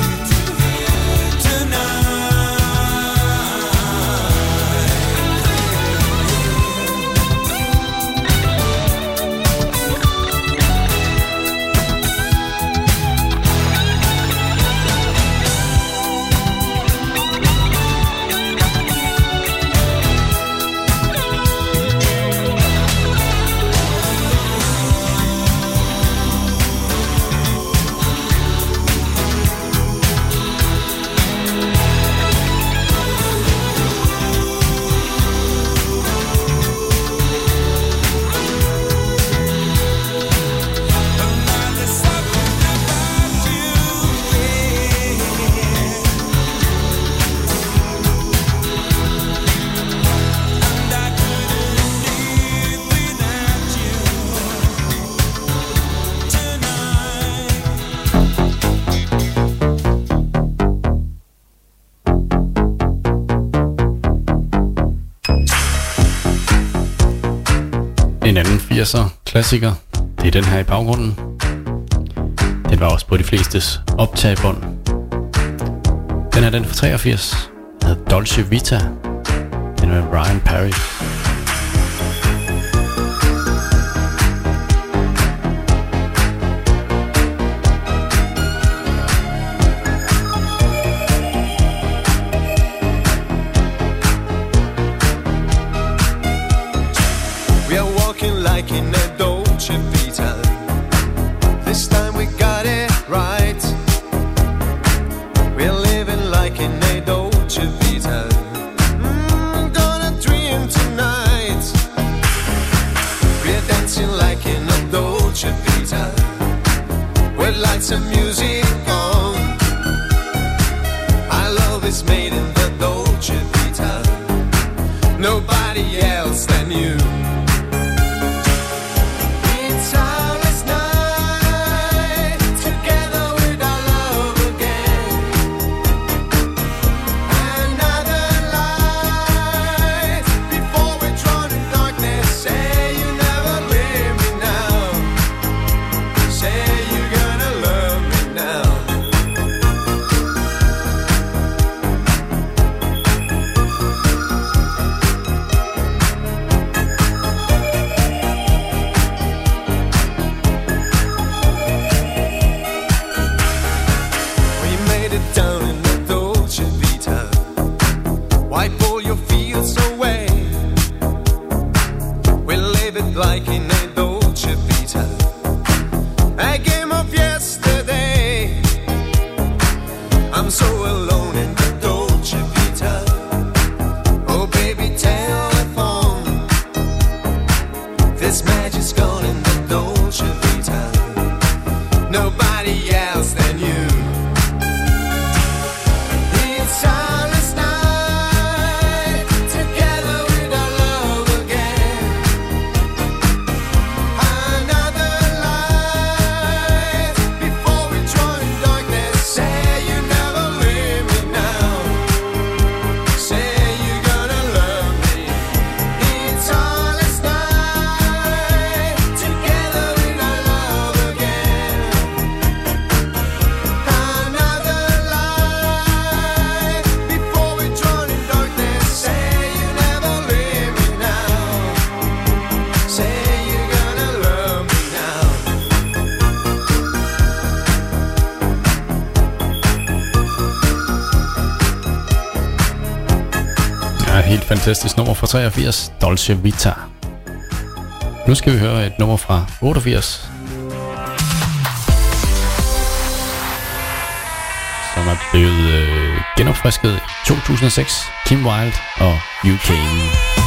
En anden 80'er klassiker, det er den her i baggrunden. Den var også på de flestes optagebånd. Den er den fra 83, den hedder Dolce Vita. Den er med Brian Perry. We are walking like in a Dolce Vita. This time we got it right. We're living like in a Dolce Vita. Gonna dream tonight. We're dancing like in a Dolce Vita. With lights and music on. Our love is made in the Dolce Vita. Nobody else than you. It's our last night together with our love again. Another life before fantastisk nummer fra 83, Dolce Vita. Nu skal vi høre et nummer fra 88, som er blevet genopfrisket i 2006. Kim Wilde og You Came.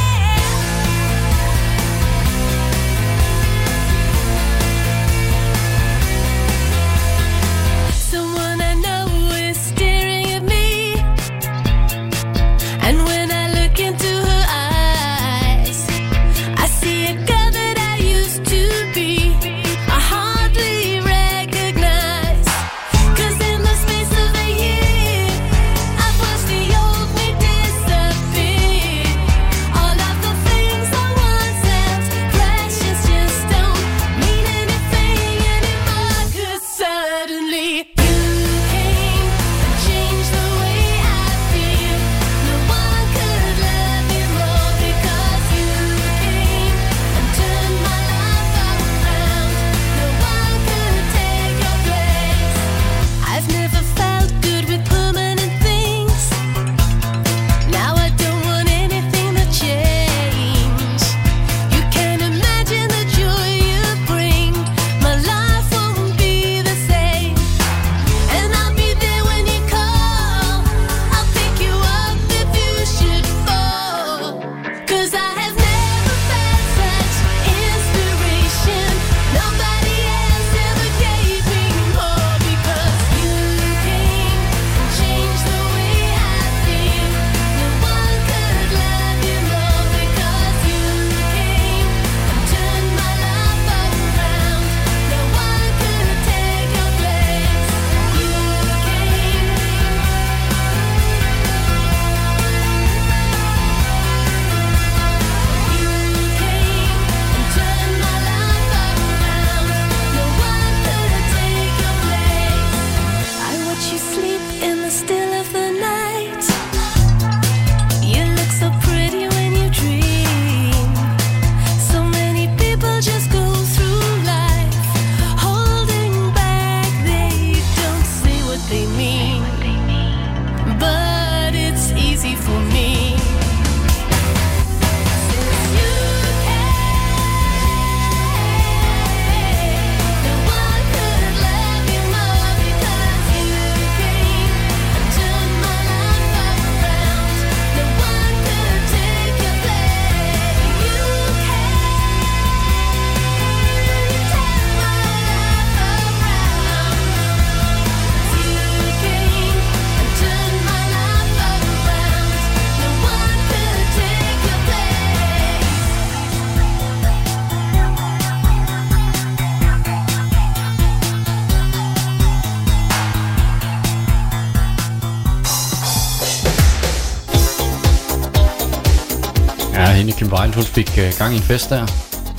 hende Kim Wilde, hun fik gang i en fest der.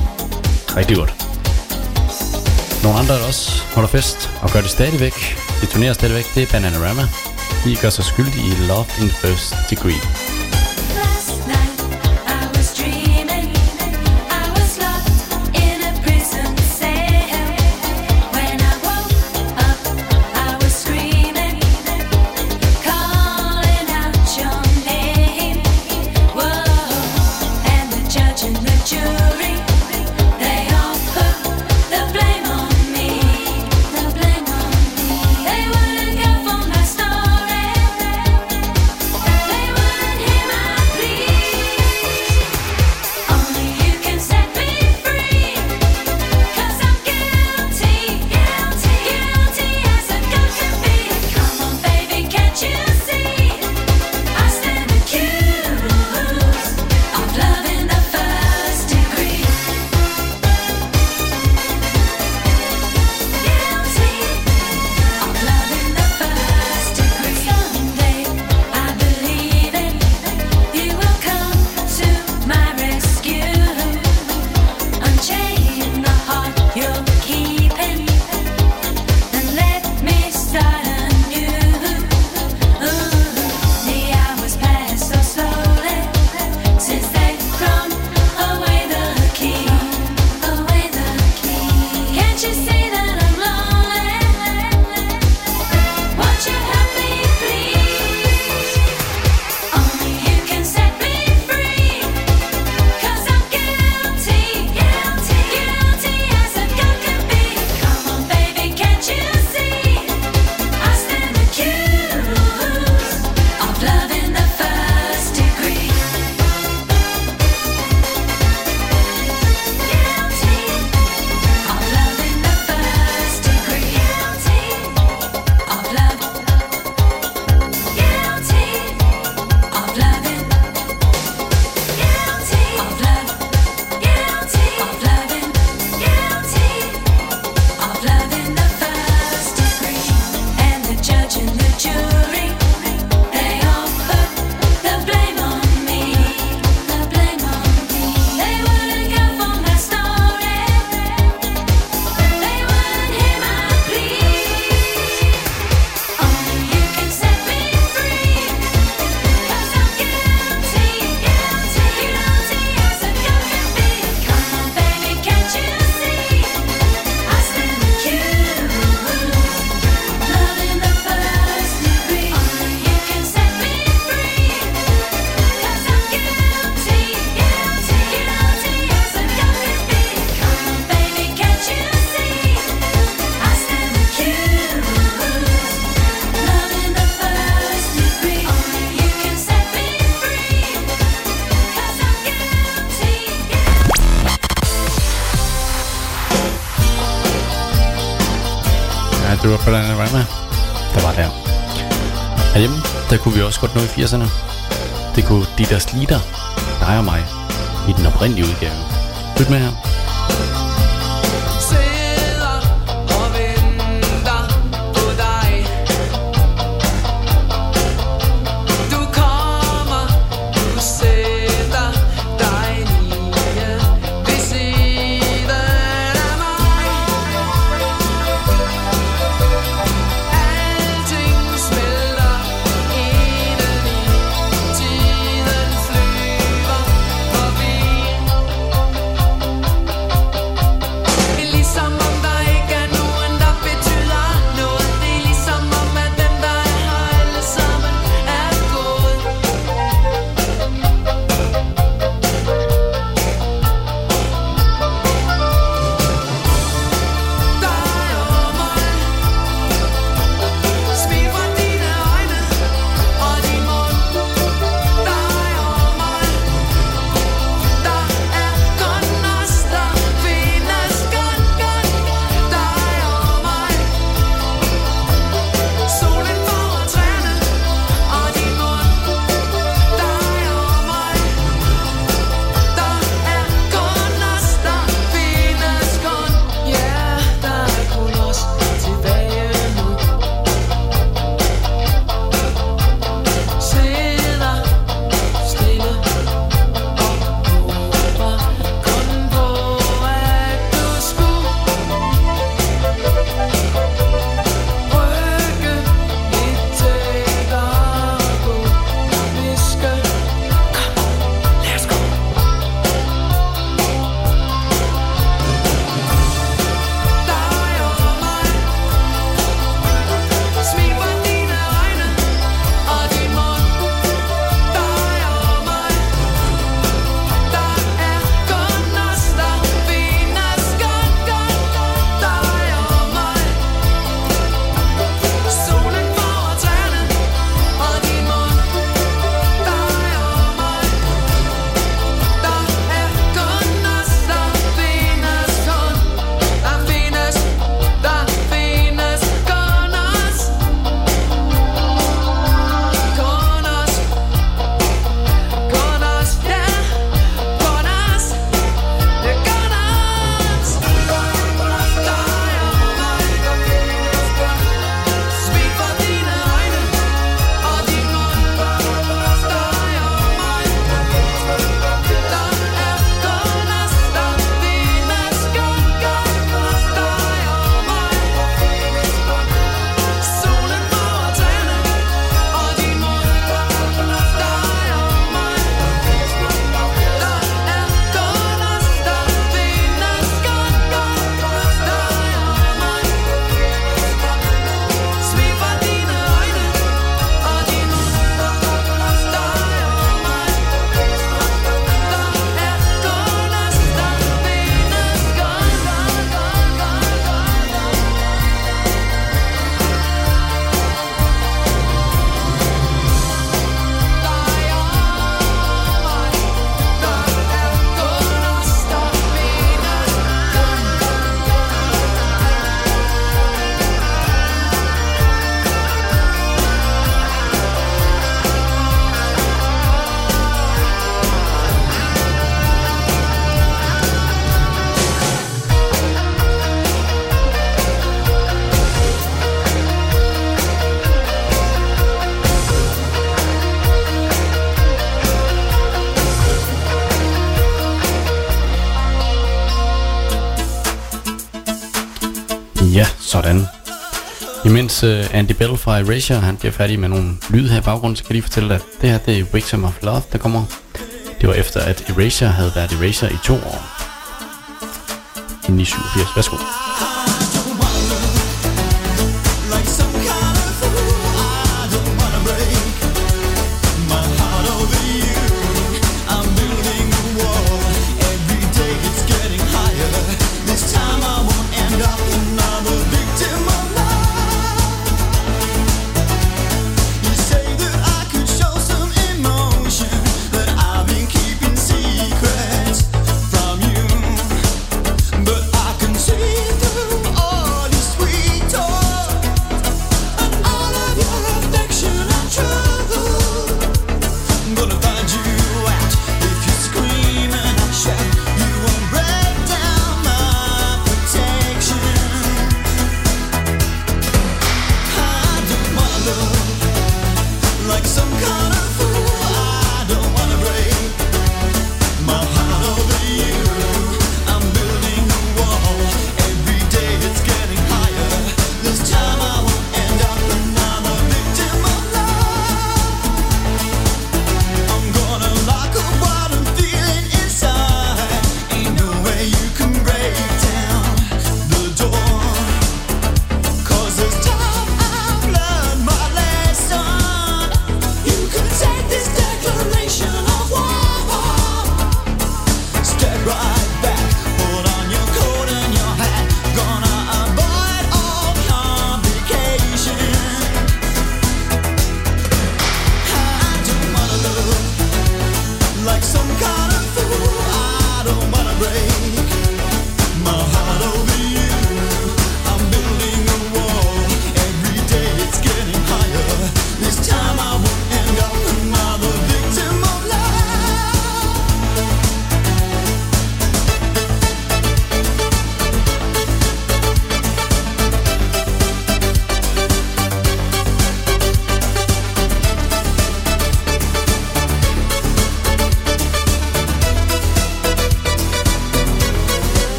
Rigtig godt. Nogle andre, der også holder fest og gør det stadigvæk. De turnerer stadigvæk, det er Bananarama. De gør sig skyldige i Love in First Degree. They wouldn't Do It Panorama. Der var der. Herhjemme, der kunne vi også godt nå i 80'erne. Det kunne Dieter Slider, dig og mig, i den oprindelige udgave. Lyt med her. Sidder og venter på dig. Du kommer, du sætter dig lige ved siden af mig. Alting smelter indeni, tiden flyver forbi. Ligesom om der ikke er nogen, der betyder noget. Det er ligesom om, at dem, der er her alle sammen, er gået. Dig og mig. Smil fra dine øjne og din mund. Dig og mig. Der er kun os, der findes kun. Dig og mig. Solen foran træerne og din mund. Dig og mig. Der er kun os, der findes kun. Ja, der er kun os tilbage nu. Sidder stille og håber kun på, at du skulle rykke lidt tættere på. Viske, kom, lad os gå. Dig og mig. Smil fra dine øjne og din mund. Dig og mig. Der er kun os, der findes kun. Dig og mig. Solen foran træerne og din mund. Dig og mig. Der er kun os, der findes kun. Der findes kun os. Kun os. Kun os, ja. Kun os. Det er kun os. Dig og mig. Smil fra dine øjne og din mund. Dig og mig. Der er kun os, der findes kun. Dig og mig. Solen foran træerne og din mund. Dig og mig. Der er kun os, der findes kun. Dig og mig. Smil fra dine øjne og din mund. Dig og mig. Der er kun os, der findes Ja, sådan. Imens Andy Bell fra Erasure, han bliver færdig med nogle lyd her i baggrunden, så kan jeg lige fortælle, at det her, det er Victim of Love, der kommer. Det var efter, at Erasure havde været Erasure i 2 år. I 87. Værsgo. Like some kind of fool, I don't wanna break my heart over you. I'm building a wall. Every day it's getting higher. This time I won't end up another victim of love. You say that I could show some emotion, that I've been keeping secrets from you, but I can see through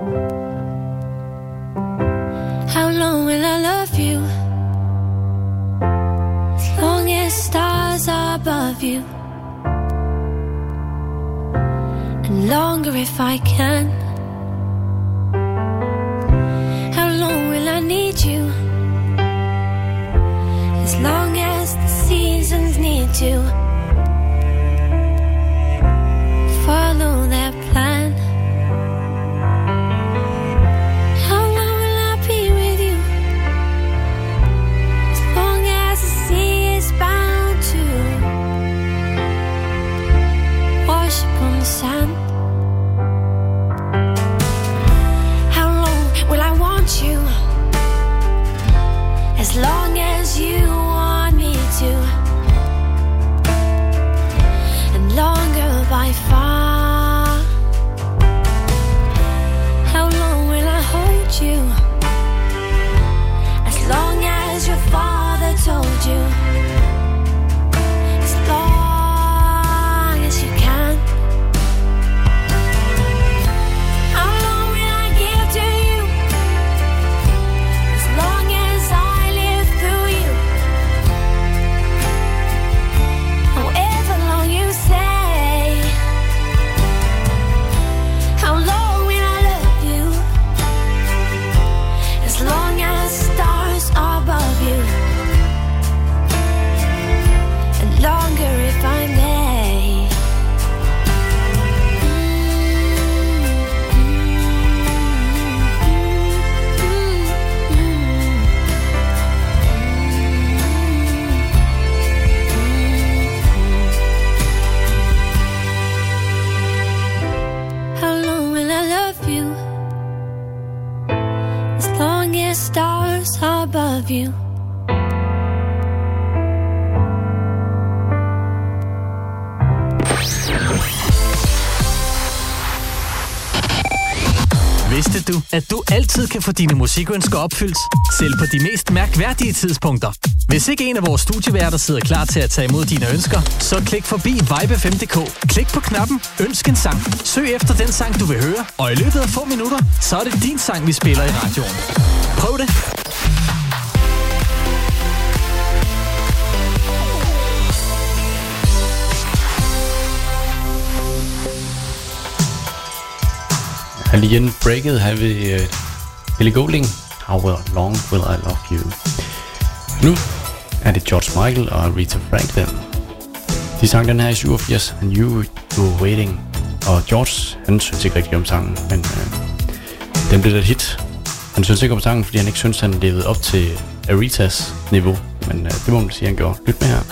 How long will I love you? As long as stars are above you, and longer if I can. How long will I need you? As long as the seasons need to follow their plan. How long will I be with you? As long as the sea is bound to wash upon the sand. How long will I want you? As long as you want me to, and longer by far. How long will I hold you? As long as your father told you, as long as you can. How long will I give to you? As long as I live through you. However long you say. How long will I love you? As long as stars are above you, and longer if I may. How long will I love you? As long as stars are above you. Vidste du, at du altid kan få dine musikønsker opfyldt, selv på de mest mærkværdige tidspunkter? Hvis ikke en af vores studieværter sidder klar til at tage imod dine ønsker, så klik forbi vibe5.dk. Klik på knappen Ønsk en sang. Søg efter den sang, du vil høre, og i løbet af få minutter, så er det din sang, vi spiller i radioen. Prøv det! Alien breaket her ved Ellie Goulding. How long will I love you? Nu er det George Michael og Aretha Franklin. De sang den her i 87, and you were waiting. Og George, han synes ikke rigtig om sangen, men den blev et hit. Han synes ikke om sangen, fordi han ikke synes, han levede op til Arethas niveau. Men det må man sige, han gjorde. Lyt med her.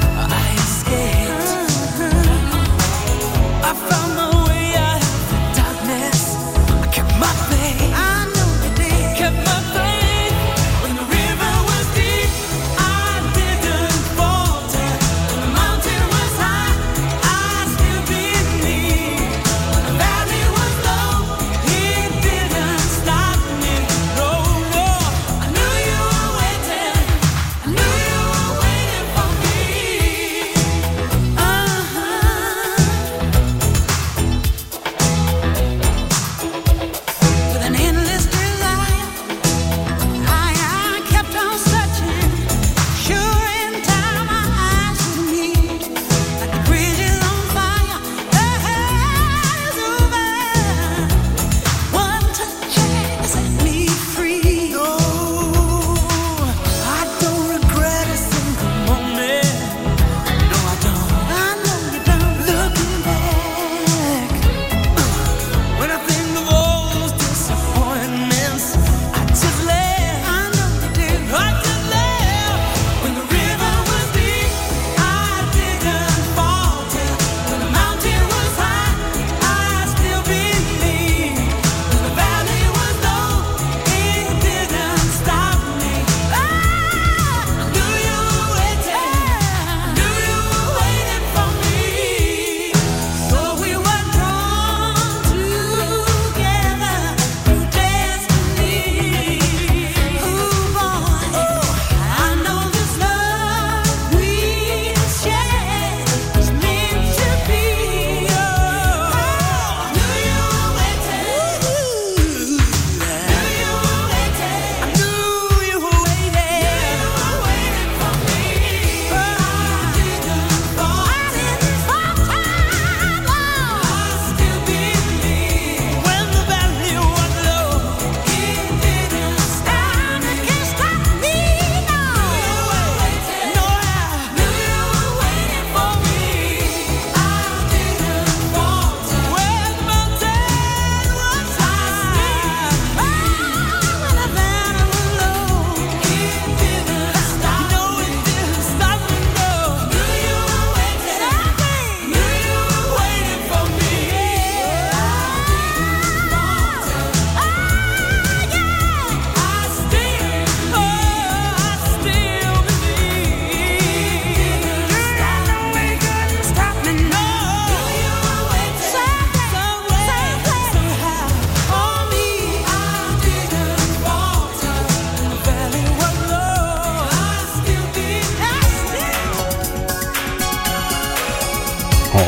I found my way out of the dark.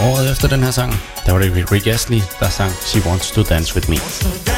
Året efter den her sang, der var det Rick Astley, der sang She Wants to Dance With Me.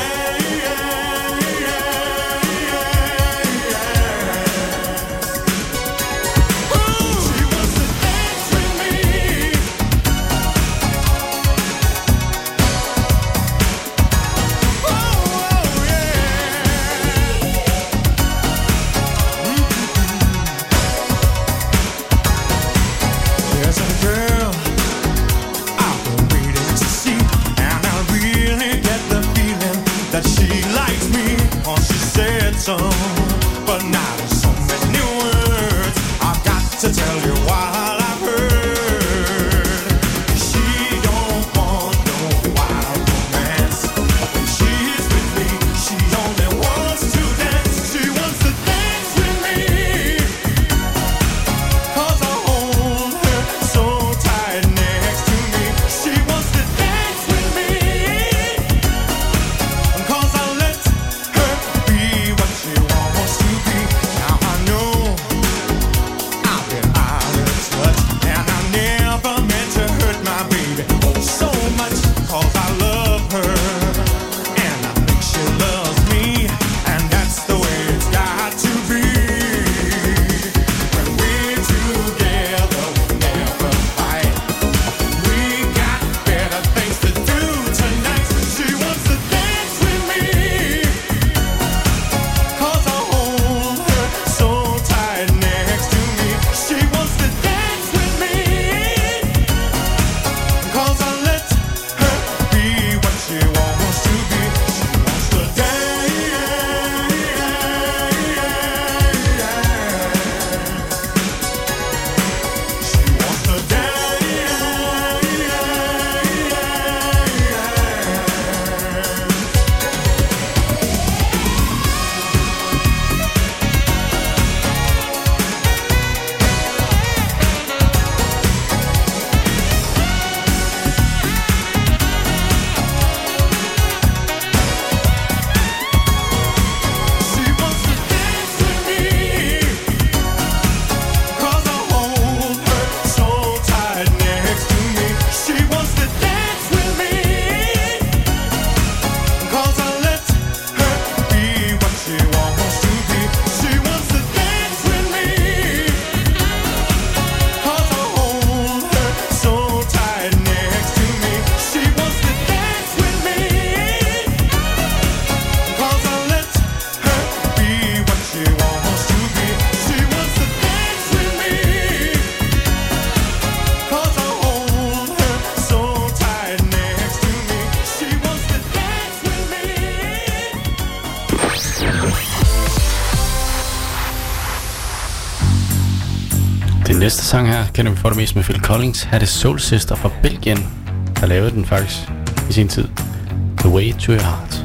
Næste sang her kender vi for det mest med Phil Collins. Her er det Soul Sister fra Belgien, der lavede den faktisk i sin tid. The Way to Your Heart.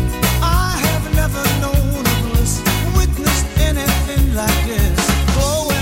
Anything like this, go away.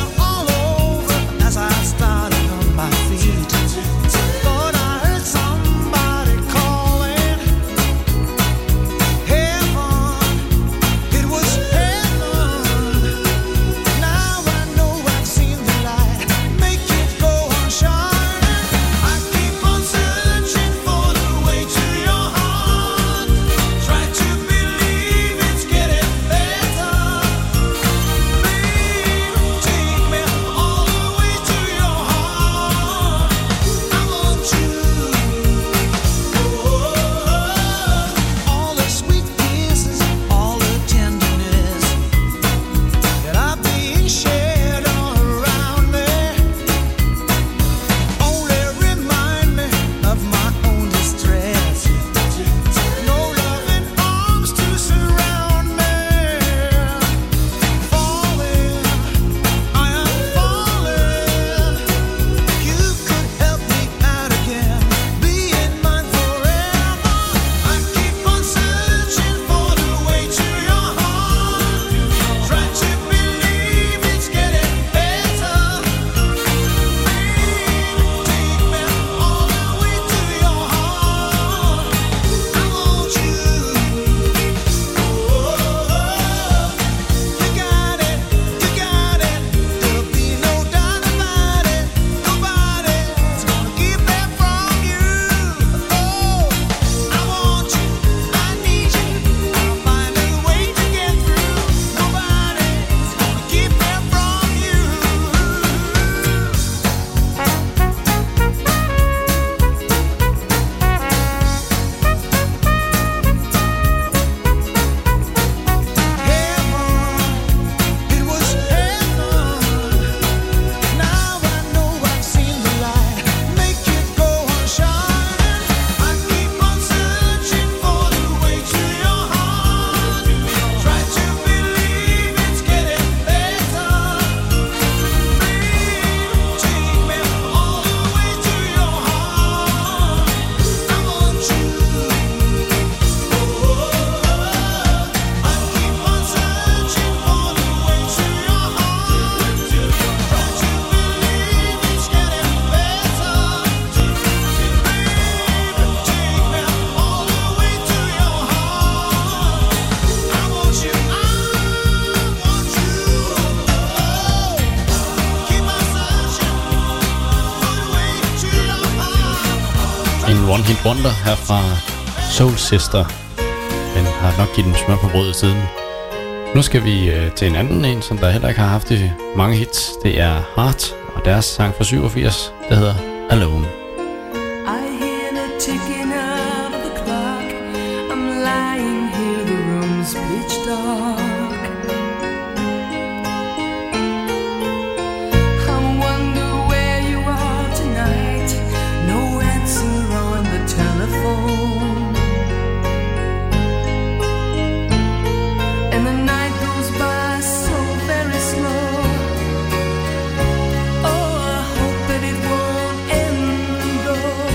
One Hit Wonder her fra Soul Sister. Den har nok givet den smør på brødet siden. Nu skal vi til en anden en, som der heller ikke har haft mange hits. Det er Heart og deres sang fra 87, der hedder Alone. I hear the ticking of the clock. I'm lying here, the room's pitch dark. I wonder where you are tonight. No answer on the telephone. And the night goes by so very slow. Oh, I hope that it won't end though.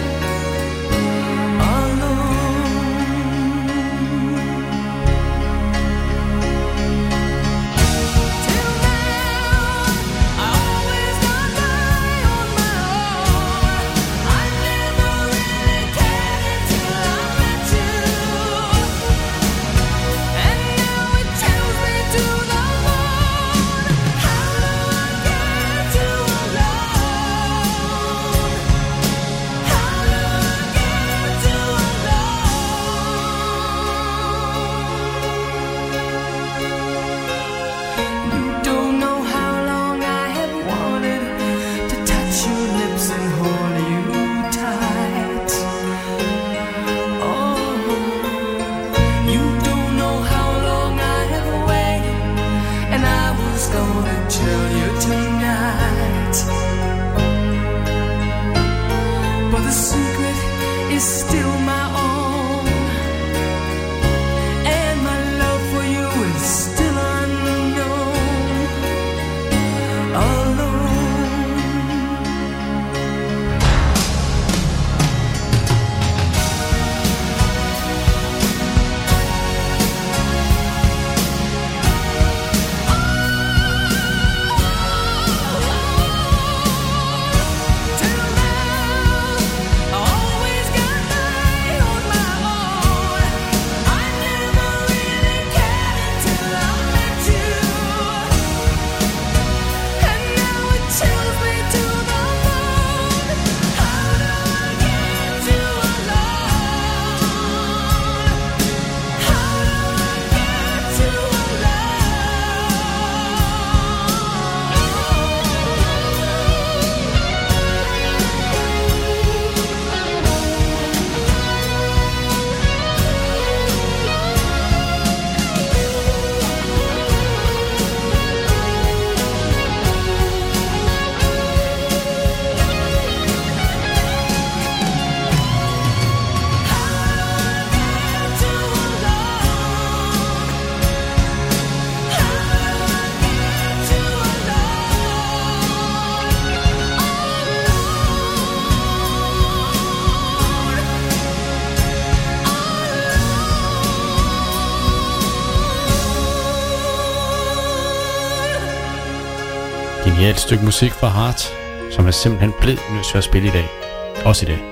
Et stykke musik fra Heart, som er simpelthen blevet nødt til at spille i dag. Også i dag.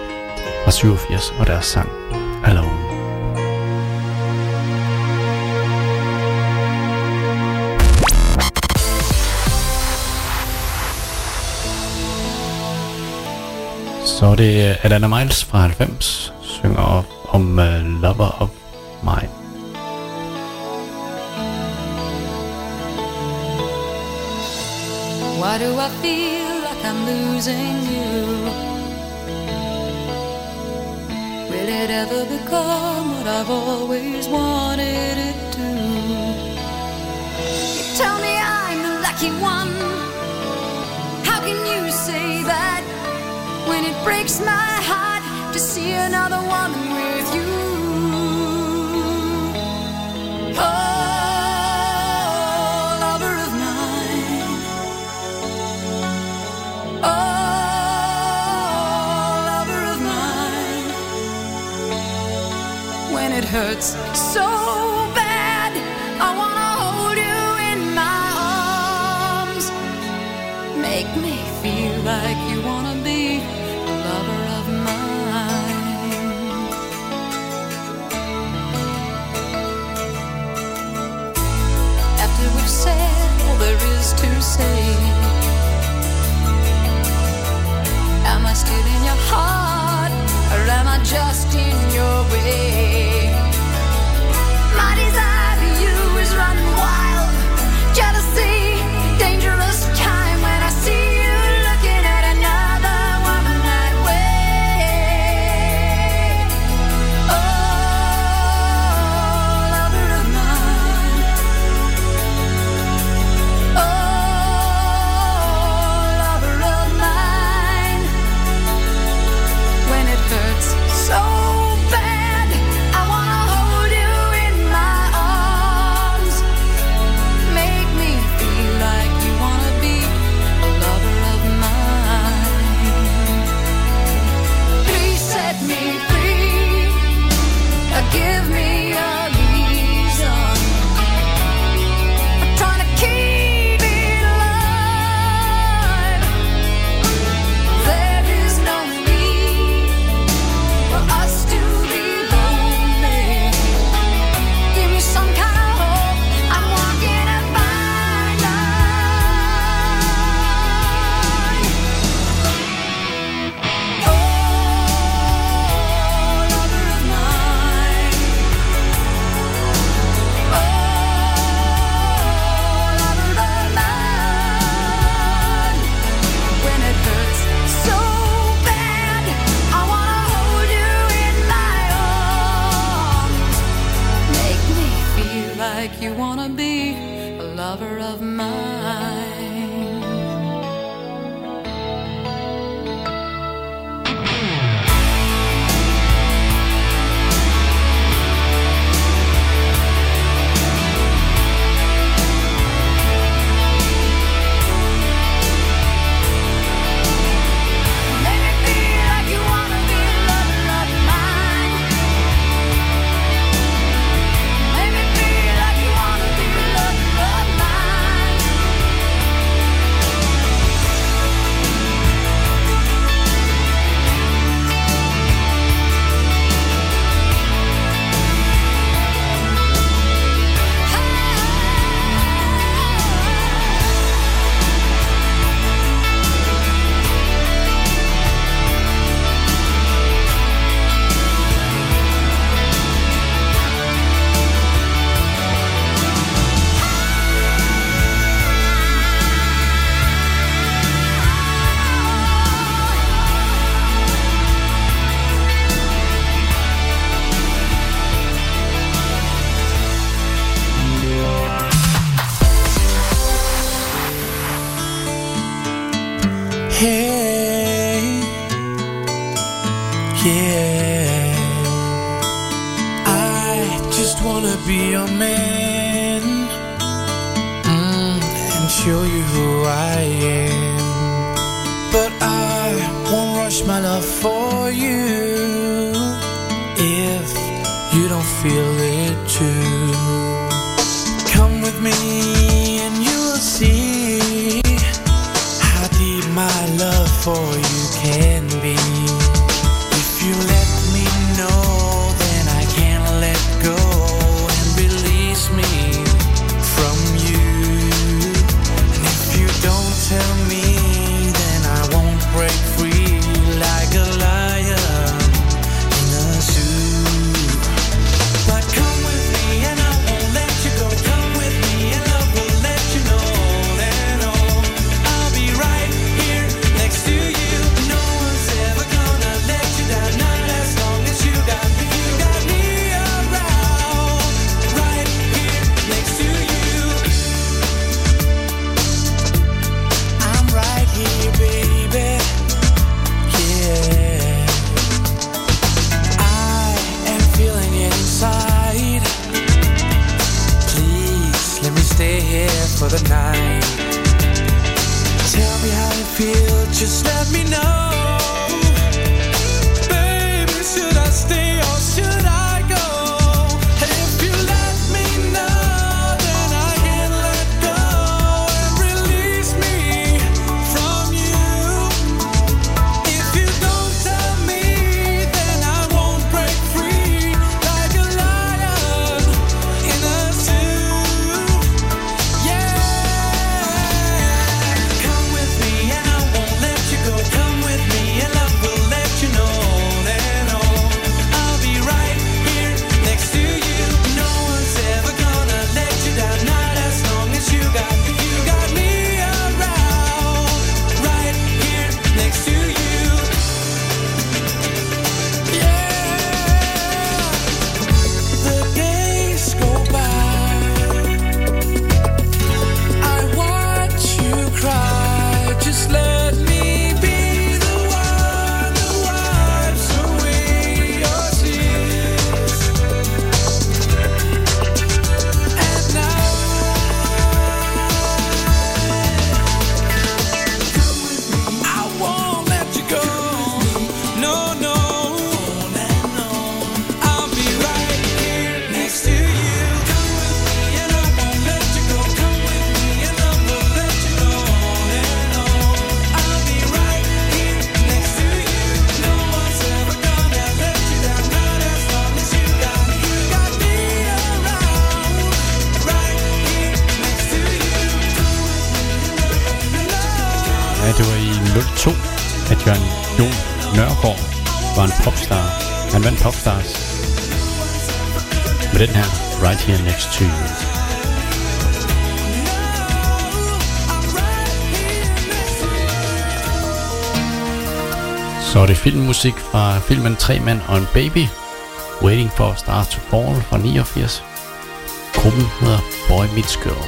Fra 87 og deres sang Alone. Så er det Alana Miles fra 90, synger om Lover of Mine. Why do I feel like I'm losing you? Will it ever become what I've always wanted it to? You tell me I'm the lucky one. How can you say that when it breaks my heart to see another woman with you? Oh, it hurts so bad. I wanna hold you in my arms. Make me feel like you wanna be a lover of mine. After we've said all there is to say, am I still in your heart? wanna be a lover of mine. Hey, yeah, I just wanna be your man, and show you who I am. But I won't rush my love for you if you don't feel it too. Come with me and you'll see how deep my love for you can be. If you let me know, then I can let go and release me from you. And if you don't tell me, then I won't break free like a lion in a zoo. But come with me and I won't let you go. Come with me and I will let you know that I'll be right here next to you. No one's ever gonna let you down, not as long as you got me. You got me around, right here next to you. I'm right here, baby. Yeah, I am feeling it inside. Please let me stay here for the night. Tell me how you feel, just let me know. Baby, should I stay or should I go? And if you let me know, then I can let go and release me from you. If you don't tell me, then I won't break free like a lion in a zoo. Yeah, come with me and I won't let you go. Come with me and I will let you know that I'll be right here next to you. No one's ever gonna let you down, not as long as you got me. You got me around, right here next to you. Yeah, the days go by, I watch you cry. Just let me be the one who wipes away your tears. At night, I won't let you go. No, no, I'll be right here next to you. Come with me and I won't let you go. Come with me and I will let you know that I'll be right here next to you. No one's ever gonna let you down, not as long as you got me. You got me around, right here next to you. Ja, det var i 02, at Jon Nørgaard var en popstar. Han vandt Popstars med den her Right Here Next to You. Så er det filmmusik fra filmen 3 mænd og en baby, Waiting for Stars to Fall fra 89. Gruppen hedder Boy Meets Girl.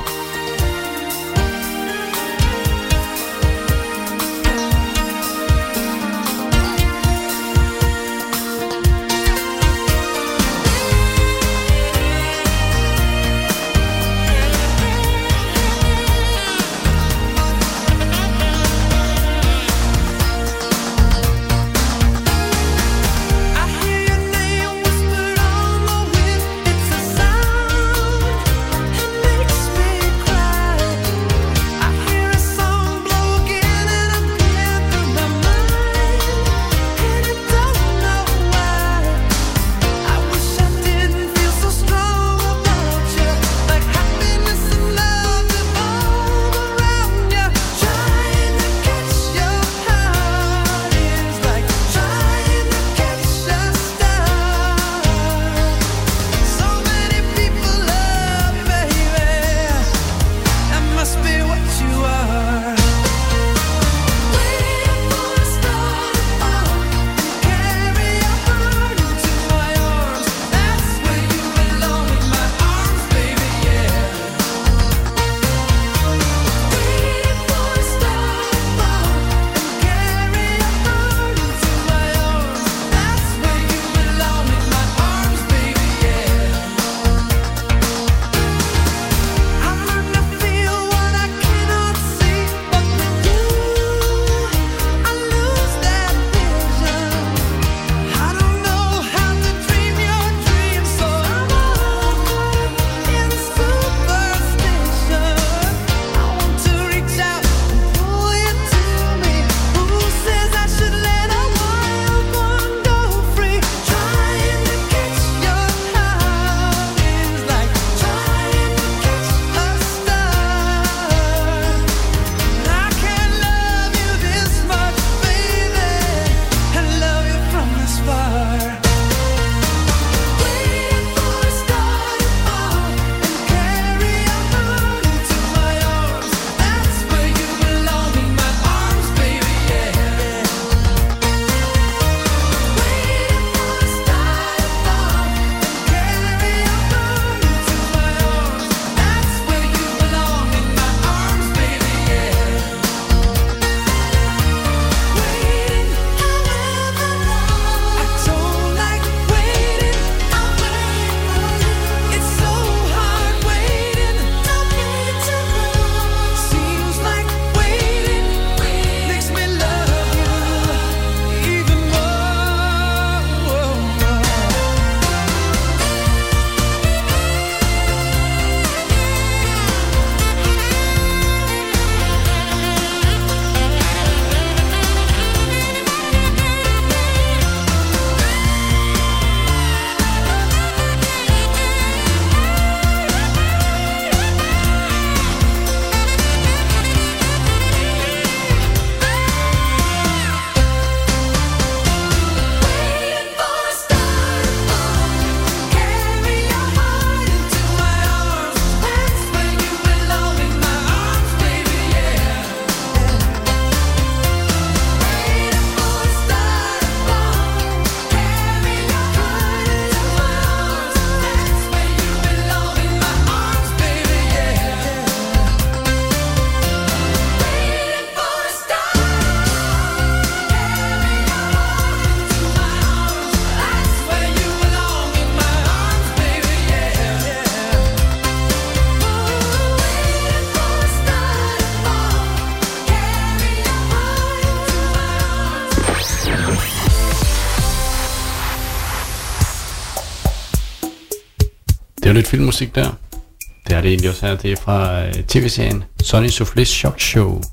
Det er jo lidt filmmusik der. Det er det egentlig også her. Det er fra tv-serien Sonny Soufflés Shock Show.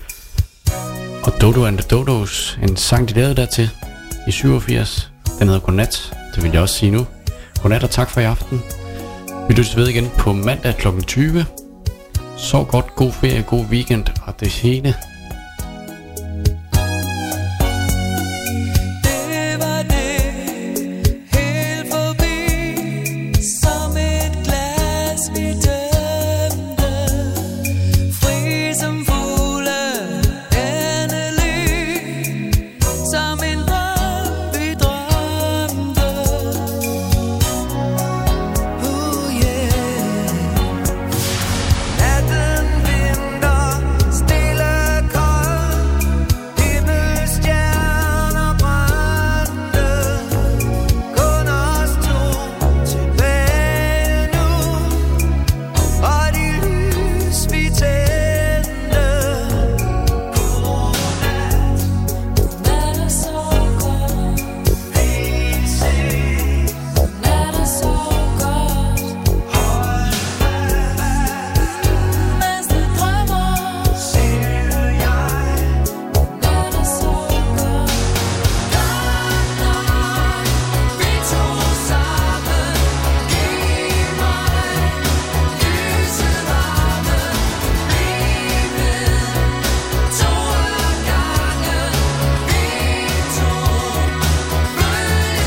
Og Dodo and the Dodos, en sang de lavede dertil i 87. Den hedder Godnat. Det vil jeg også sige nu. Godnat og tak for i aften. Vi lyttes ved igen på mandag kl. 20. Sov godt, god ferie, god weekend og det hele.